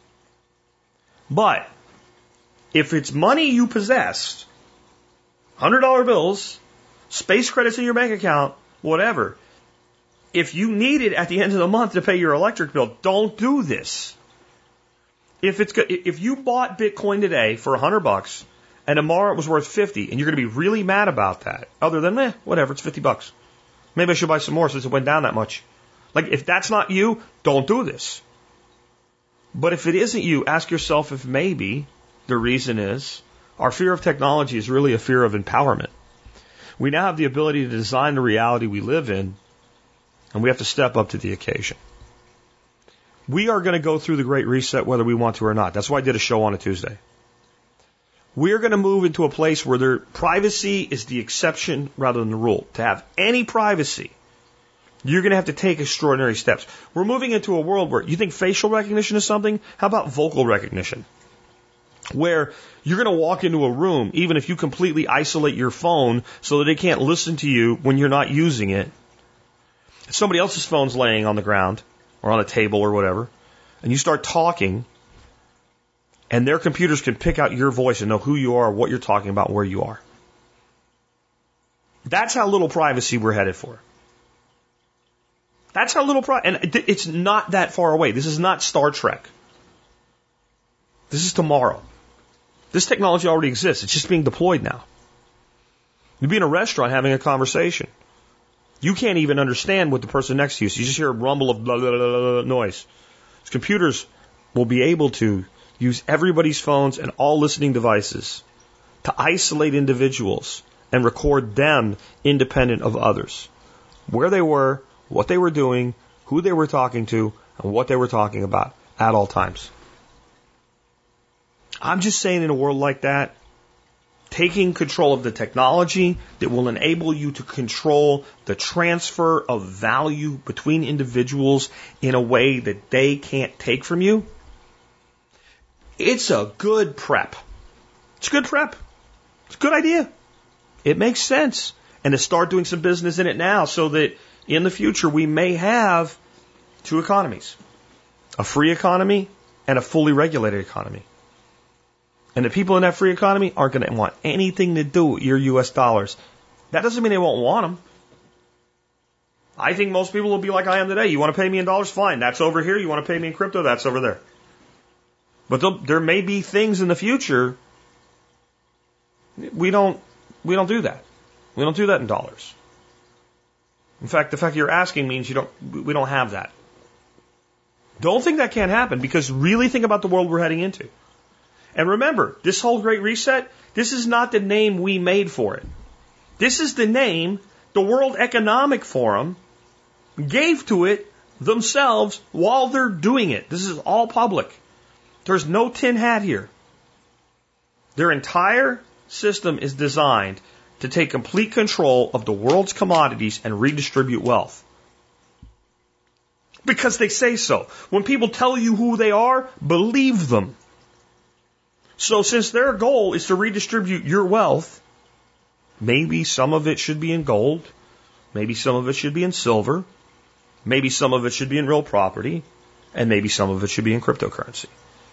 But if it's money you possessed, one hundred dollar bills, space credits in your bank account, whatever, if you need it at the end of the month to pay your electric bill, don't do this. If it's if you bought Bitcoin today for one hundred bucks, and tomorrow it was worth fifty, and you're going to be really mad about that, other than, eh, whatever, it's fifty bucks. Maybe I should buy some more since it went down that much. Like, if that's not you, don't do this. But if it isn't you, ask yourself if maybe the reason is our fear of technology is really a fear of empowerment. We now have the ability to design the reality we live in, and we have to step up to the occasion. We are going to go through the Great Reset whether we want to or not. That's why I did a show on a Tuesday. We're going to move into a place where their privacy is the exception rather than the rule. To have any privacy, you're going to have to take extraordinary steps. We're moving into a world where you think facial recognition is something? How about vocal recognition? Where you're going to walk into a room, even if you completely isolate your phone so that they can't listen to you when you're not using it. Somebody else's phone's laying on the ground or on a table or whatever, and you start talking, and their computers can pick out your voice and know who you are, what you're talking about, where you are. That's how little privacy we're headed for. That's how little privacy, and it's not that far away. This is not Star Trek. This is tomorrow. This technology already exists. It's just being deployed now. You'd be in a restaurant having a conversation. You can't even understand what the person next to you is. You just hear a rumble of blah, blah, blah, blah, noise. Computers will be able to use everybody's phones and all listening devices to isolate individuals and record them independent of others. Where they were, what they were doing, who they were talking to, and what they were talking about at all times. I'm just saying, in a world like that, taking control of the technology that will enable you to control the transfer of value between individuals in a way that they can't take from you, it's a good prep. It's a good prep. It's a good idea. It makes sense. And to start doing some business in it now so that in the future we may have two economies. A free economy and a fully regulated economy. And the people in that free economy aren't going to want anything to do with your U S dollars. That doesn't mean they won't want them. I think most people will be like I am today. You want to pay me in dollars? Fine. That's over here. You want to pay me in crypto? That's over there. But there may be things in the future we don't we don't do that. We don't do that in dollars. In fact, the fact that you're asking means you don't we don't have that. Don't think that can't happen, because really think about the world we're heading into. And remember, this whole Great Reset, this is not the name we made for it. This is the name the World Economic Forum gave to it themselves while they're doing it. This is all public. There's no tin hat here. Their entire system is designed to take complete control of the world's commodities and redistribute wealth. Because they say so. When people tell you who they are, believe them. So since their goal is to redistribute your wealth, maybe some of it should be in gold, maybe some of it should be in silver, maybe some of it should be in real property, and maybe some of it should be in cryptocurrency.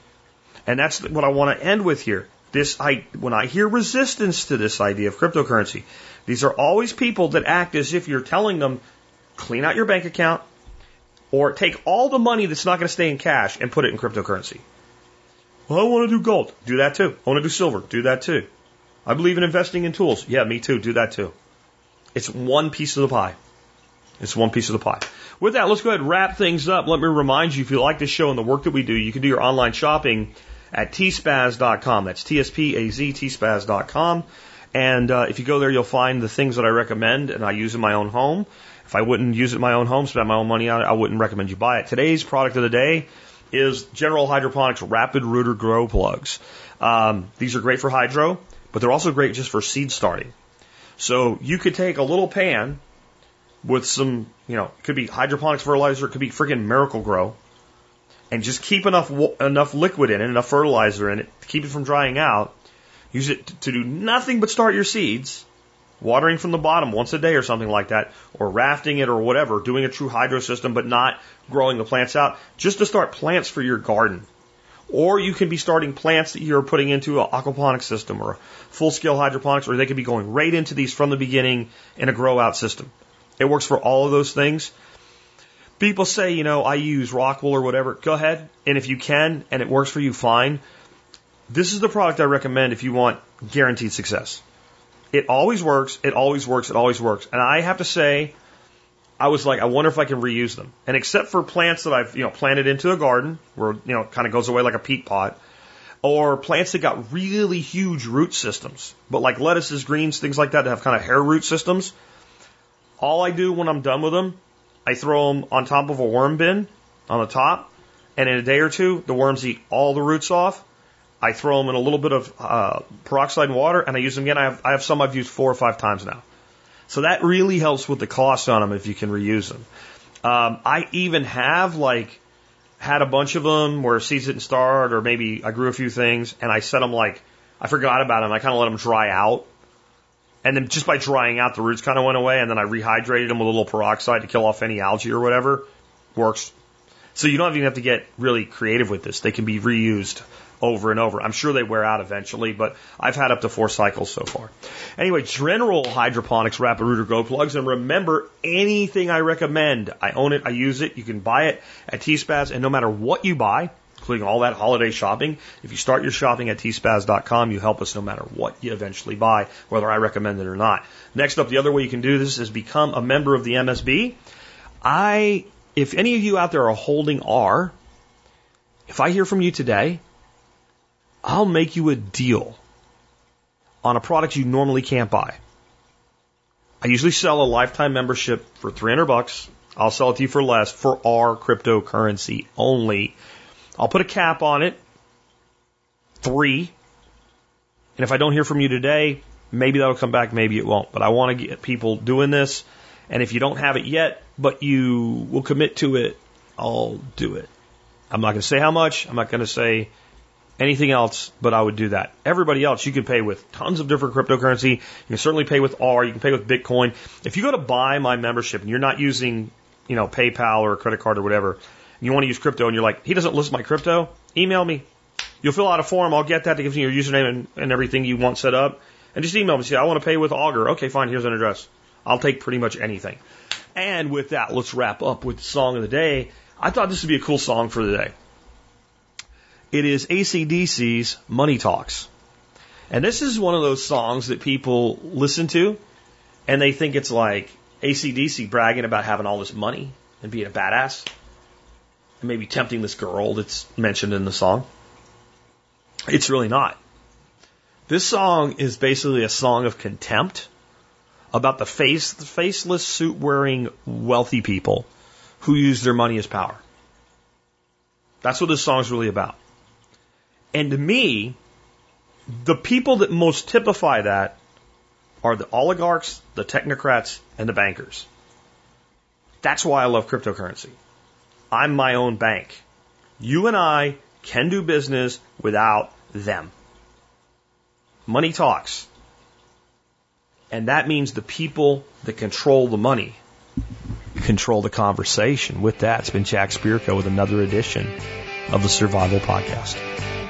And that's what I want to end with here. This, I, when I hear resistance to this idea of cryptocurrency, these are always people that act as if you're telling them, clean out your bank account, or take all the money that's not going to stay in cash and put it in cryptocurrency. Well, I want to do gold. Do that too. I want to do silver. Do that too. I believe in investing in tools. Yeah, me too. Do that too. It's one piece of the pie. It's one piece of the pie. With that, let's go ahead and wrap things up. Let me remind you, if you like this show and the work that we do, you can do your online shopping at T spaz dot com. That's T S P A Z, T spaz dot com. And uh, if you go there, you'll find the things that I recommend and I use in my own home. If I wouldn't use it in my own home, spend my own money on it, I wouldn't recommend you buy it. Today's product of the day is General Hydroponics Rapid Rooter Grow Plugs. Um, these are great for hydro, but they're also great just for seed starting. So you could take a little pan with some, you know, it could be hydroponics fertilizer, it could be freaking Miracle Grow, and just keep enough enough liquid in it, enough fertilizer in it to keep it from drying out. Use it to do nothing but start your seeds, watering from the bottom once a day or something like that, or rafting it or whatever, doing a true hydro system but not growing the plants out, just to start plants for your garden. Or you can be starting plants that you're putting into an aquaponics system or a full-scale hydroponics, or they could be going right into these from the beginning in a grow-out system. It works for all of those things. People say, you know, I use Rockwool or whatever. Go ahead, and if you can, and it works for you, fine. This is the product I recommend if you want guaranteed success. It always works, it always works, it always works. And I have to say, I was like, I wonder if I can reuse them. And except for plants that I've, you know, planted into a garden, where, you know, it kind of goes away like a peat pot, or plants that got really huge root systems, but like lettuces, greens, things like that that have kind of hair root systems, all I do when I'm done with them, I throw them on top of a worm bin on the top, and in a day or two, the worms eat all the roots off. I throw them in a little bit of uh, peroxide and water, and I use them again. I have, I have some I've used four or five times now. So that really helps with the cost on them if you can reuse them. Um, I even have like had a bunch of them where seeds didn't start, or maybe I grew a few things, and I set them like, I forgot about them. I kind of let them dry out. And then just by drying out, the roots kind of went away, and then I rehydrated them with a little peroxide to kill off any algae or whatever. Works. So you don't even have to get really creative with this. They can be reused over and over. I'm sure they wear out eventually, but I've had up to four cycles so far. Anyway, General Hydroponics Rapid Rooter Grow Plugs. And remember, anything I recommend, I own it, I use it. You can buy it at T spaz, and no matter what you buy, including all that holiday shopping. If you start your shopping at T spaz dot com, you help us no matter what you eventually buy, whether I recommend it or not. Next up, the other way you can do this is become a member of the M S B. I, if any of you out there are holding R, if I hear from you today, I'll make you a deal on a product you normally can't buy. I usually sell a lifetime membership for three hundred bucks. I'll sell it to you for less for our cryptocurrency only. I'll put a cap on it, three. And if I don't hear from you today, maybe that'll come back, maybe it won't. But I want to get people doing this. And if you don't have it yet, but you will commit to it, I'll do it. I'm not going to say how much. I'm not going to say anything else, but I would do that. Everybody else, you can pay with tons of different cryptocurrency. You can certainly pay with R. You can pay with Bitcoin. If you go to buy my membership and you're not using, you know, PayPal or a credit card or whatever, and you want to use crypto and you're like, he doesn't list my crypto, email me. You'll fill out a form. I'll get that to give you your username and, and everything you want set up. And just email me. Say, I want to pay with Augur. Okay, fine. Here's an address. I'll take pretty much anything. And with that, let's wrap up with the song of the day. I thought this would be a cool song for the day. It is A C D C's Money Talks. And this is one of those songs that people listen to and they think it's like A C D C bragging about having all this money and being a badass and maybe tempting this girl that's mentioned in the song. It's really not. This song is basically a song of contempt about the face, the faceless suit-wearing wealthy people who use their money as power. That's what this song's really about. And to me, the people that most typify that are the oligarchs, the technocrats, and the bankers. That's why I love cryptocurrency. I'm my own bank. You and I can do business without them. Money talks. And that means the people that control the money control the conversation. With that, it's been Jack Spirko with another edition of the Survival Podcast.